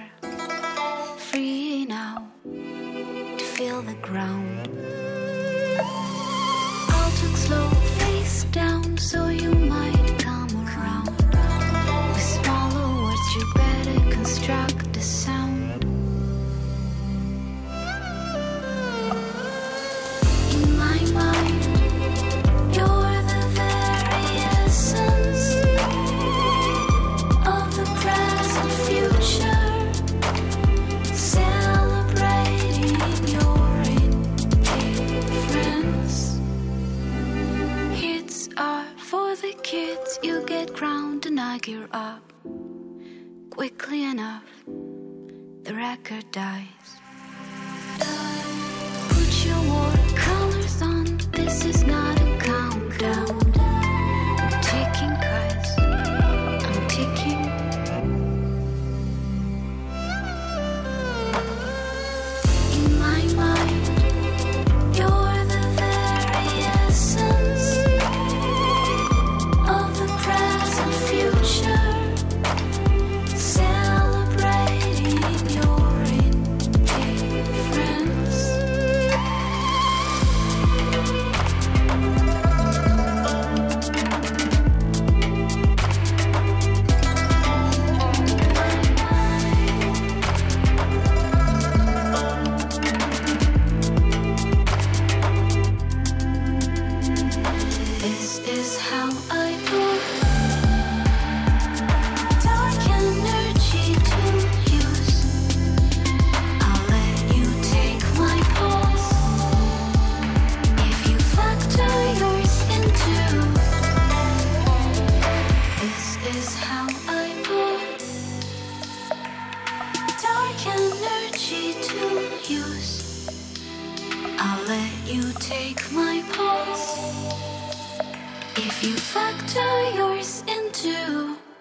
free now to feel the ground. I'll talk slow, face down, so you might come around. With smaller words, you better construct a sound. In my mind, you're the very essence of the present future, celebrating your indifference. Hits are for the kids, you get crowned and I gear up. Quickly enough, the record dies. Put your watercolors on, this is not a countdown. I'm taking cause I'm ticking. In my mind, you're the very essence of the present future, celebrating your indifference. are yours in two.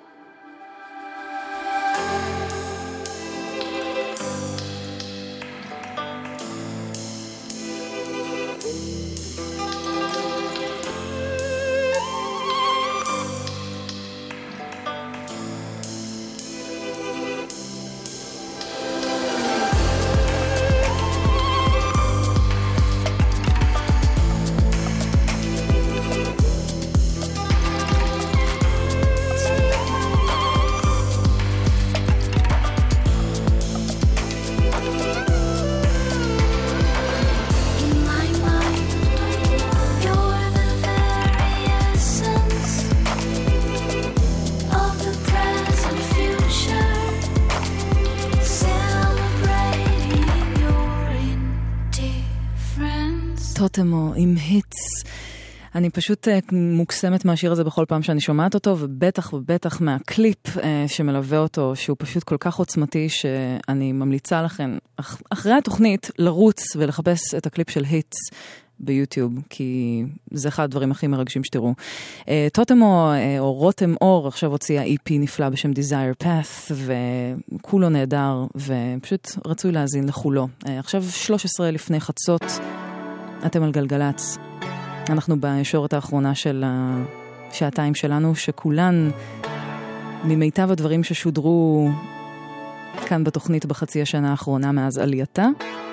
טוטמו עם היטס. אני פשוט מוקסמת מהשיר הזה בכל פעם שאני שומעת אותו, ובטח ובטח מהקליפ שמלווה אותו, שהוא פשוט כל כך עוצמתי, שאני ממליצה לכם, אחרי התוכנית, לרוץ ולחפש את הקליפ של היטס ביוטיוב, כי זה אחד הדברים הכי מרגשים שתראו. טוטמו או רותם אור עכשיו הוציאה EP נפלא בשם Desire Path, וכולו נהדר, ופשוט רצוי להאזין לכולו. עכשיו 13 לפני חצות, אתם על גלגלץ. אנחנו בישורת האחרונה של השעתיים שלנו, שכולן ממיטב הדברים ששודרו כאן בתוכנית בחצי השנה האחרונה מאז עלייתה.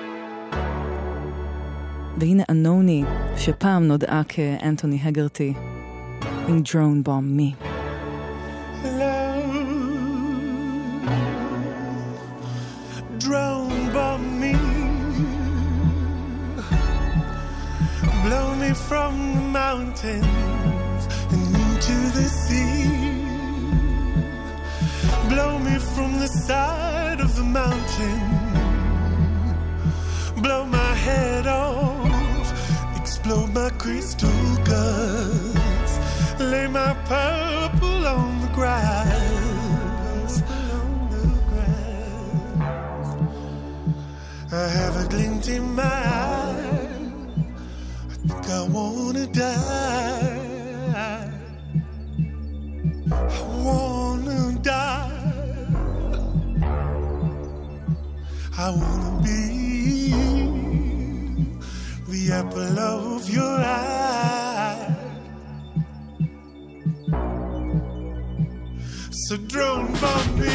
והנה אנוני, שפעם נודעה כאנטוני הגרטי, עם Drone Bomb Me. Drone bomb me, blow me from the mountains and into the sea, blow me from the side of the mountain, blow my head off, explode my crystal guts, lay my purple on the grass. I have a glint in my eye, I think I wanna die, I wanna die, I wanna be the apple of your eye. So drone bomb me,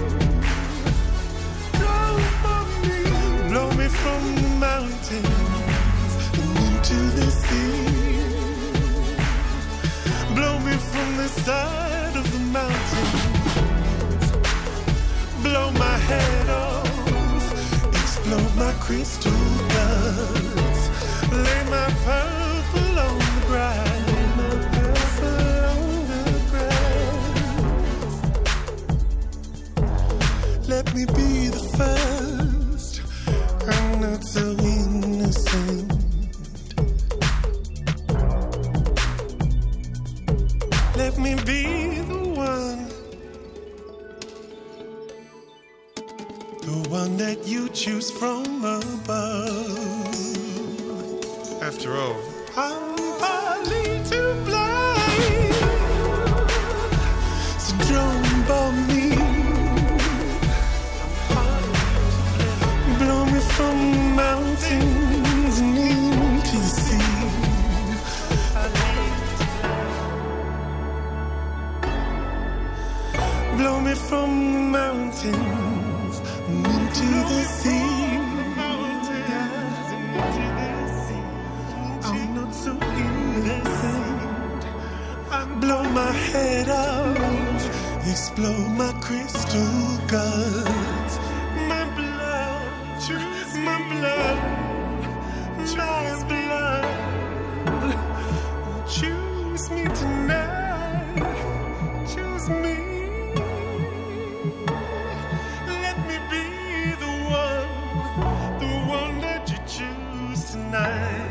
drone bomb me, blow me from the mountains and into the sea, blow me from the side of the mountains, blow my head off, explode my crystal guts, lay my purple on the grass, my purple on the grass. Let me be the first, I'm not so innocent. Let me be the one that you choose from above. After all, I'm partly to blame, so drone bomb me, blow me from the mountains and into the sea, blow me from the mountains and into the sea. I'm not so innocent. I blow my head off, explode my crystal guts. My blood, my blood, my blood. Choose me tonight, choose me. Let me be the one that you choose tonight.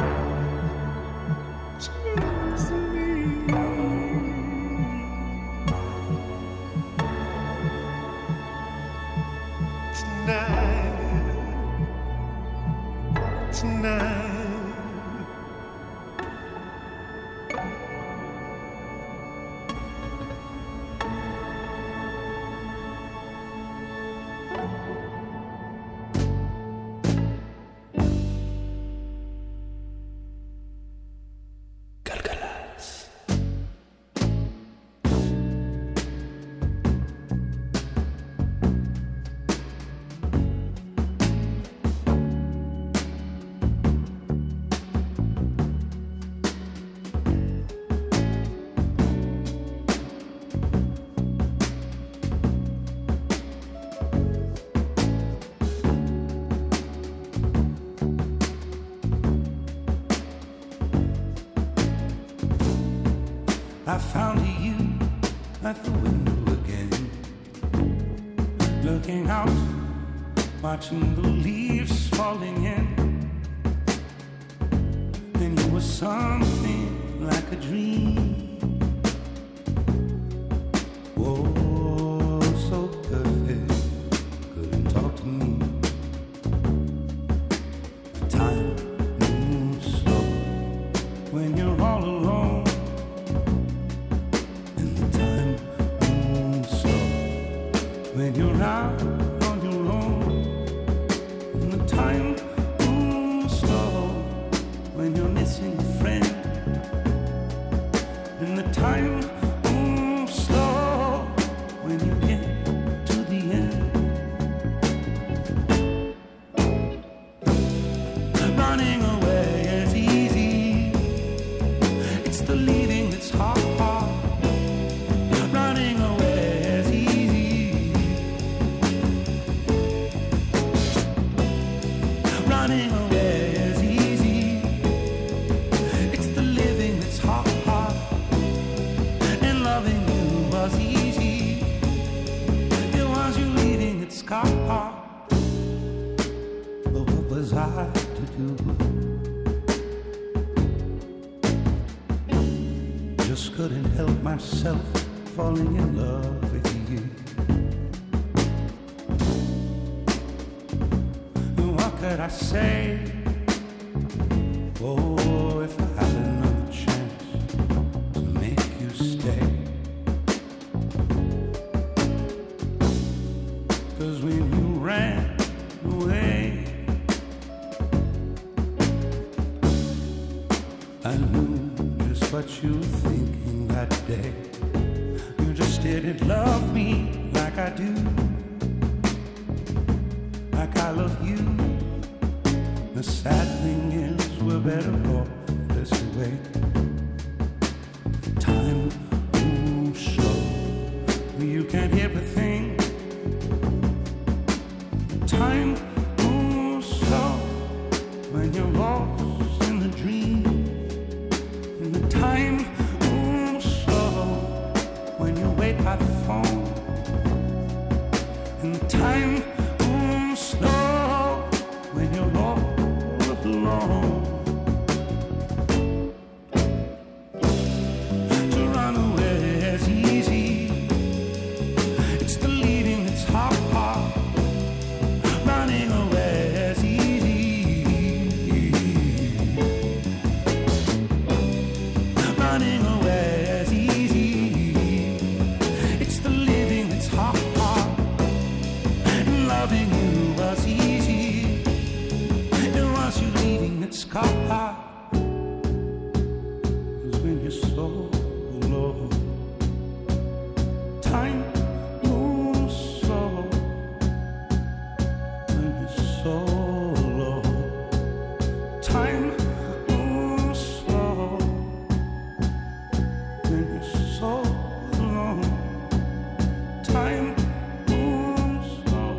Choose me. I found you at the window again, looking out, watching the leaves falling in. And you were something like a dream. Oh, so perfect, couldn't talk to me. The time moves slow when you're all alone. And the time moves slow when you're out on your own. And the time moves slow when you're missing a friend. And the time moves slow when you get to the end. Running away is easy, it's the leaving that's hard. Running away is easy, running away is easy, it's the living that's hard. And loving you was easy, it was you leaving it scarred. But what was I to do? Just couldn't help myself falling in love with you. And what could I say? Oh, if I had another chance to make you stay. 'Cause when you ran away, I knew just what you were thinking that day. You just didn't love me like I do, like I love you. The sad thing is we're better off this way. Time moves slow, you can't hear a thing. Time moves slow when you're lost in the dream. And the time moves slow when you wait by the phone. And the time moves slow when you're all alone. To run away is easy, it's the leaving that's hard. Running away is easy, running away is easy, it's the living that's hard. And loving you was easy, it was you leaving that scarred. 'Cause when you're so alone, time moves slow. When you're so low, time moves slow. When you're so alone, time moves slow.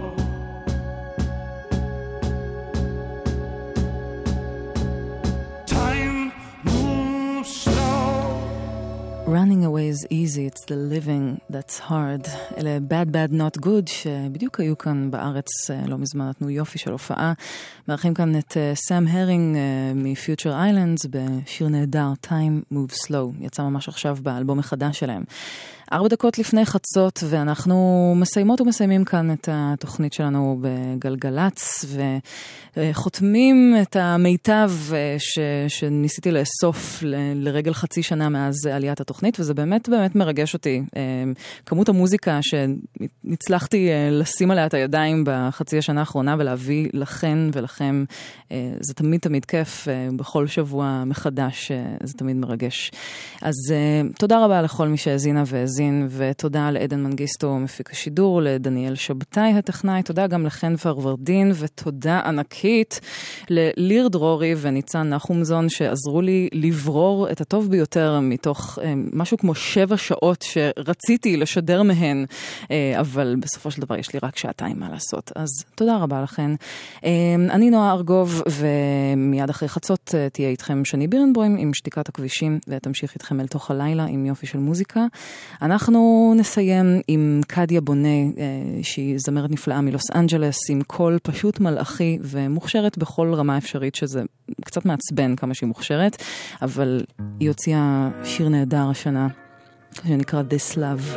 Time moves slow. Running away is easy, it's the living that's hard. אלה Bad Bad Not Good, שבדיוק היו כאן בארץ לא מזמן, נתנו יופי של הופעה. מארחים כאן את סאם הרינג מ-Future Islands בשיר נהדר, Time Moves Slow. יצא ממש עכשיו באלבום החדש שלהם. 4 דקות לפני חצות, ואנחנו מסיימות ומסיימים כאן את התוכנית שלנו בגלגלץ, וחותמים את המיטב שניסיתי לאסוף לרגל חצי שנה מאז עליית התוכנית, וזה באמת באמת מרגש אותי. כמות המוזיקה שנצלחתי לשים עליה את הידיים בחצי השנה האחרונה, ולהביא לכן ולכם, זה תמיד תמיד כיף, בכל שבוע מחדש, זה תמיד מרגש. אז תודה רבה לכל מי שהזינה והזינה, שהאזין, ותודה לעדן מנגיסטו מפיק השידור, לדניאל שבתאי הטכנאי, תודה גם לכן פרוורדין, ותודה ענקית לליר דרורי וניצן נחומזון שעזרו לי לברור את הטוב ביותר מתוך משהו כמו 7 שעות שרציתי לשדר מהן, אבל בסופו של דבר יש לי רק 2 שעתיים מה לעשות. אז תודה רבה לכן. אני נועה ארגוב, ומיד אחרי חצות תהיה איתכם שני בירנבוים עם שתיקת הכבישים, ותמשיך איתכם אל תוך הלילה עם יופי של מוזיקה. אנחנו נסיים עם קדיה בונה, שהיא זמרת נפלאה מלוס אנג'לס, עם קול פשוט מלאכי ומוכשרת בכל רמה אפשרית, שזה קצת מעצבן כמה שהיא מוכשרת, אבל היא הוציאה שיר נהדר השנה, שנקרא This Love.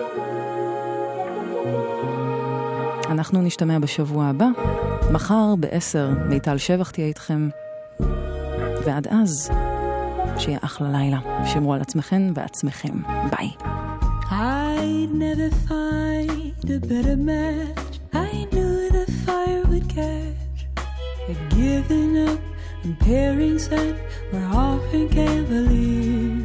אנחנו נשתמע בשבוע הבא, מחר ב-10, מיטל שבח תהיה איתכם, ועד אז, שיהיה אחלה לילה. שמרו על עצמכם ועצמכם. ביי. I'd never find a better match. I knew the fire would catch. I'd given up on pairings that were often cavalier.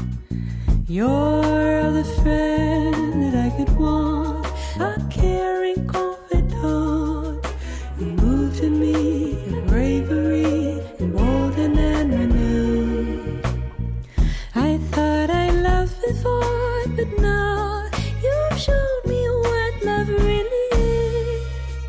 You're the friend that I could want, a caring confidant. You moved to me in bravery, emboldened and renewed. I thought I loved before, but now you've shown me what love really is.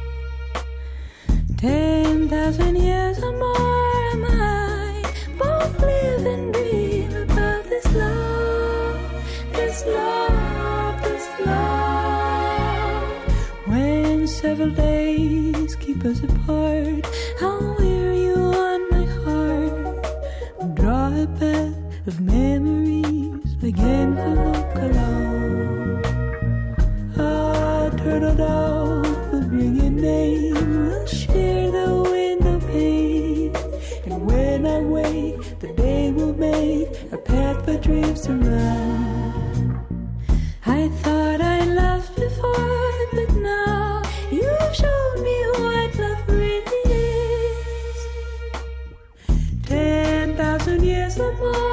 10,000 years or more am I, both live and dream about this love, this love, this love. When several days keep us apart, I'll wear you on my heart and draw a path of memories again for look alone. Ah, turtle dove will bring your name, we'll share the window pane, and when I wake, the day will make a path for dreams to run. I thought I loved before, but now you've shown me what love really is. 10,000 years or more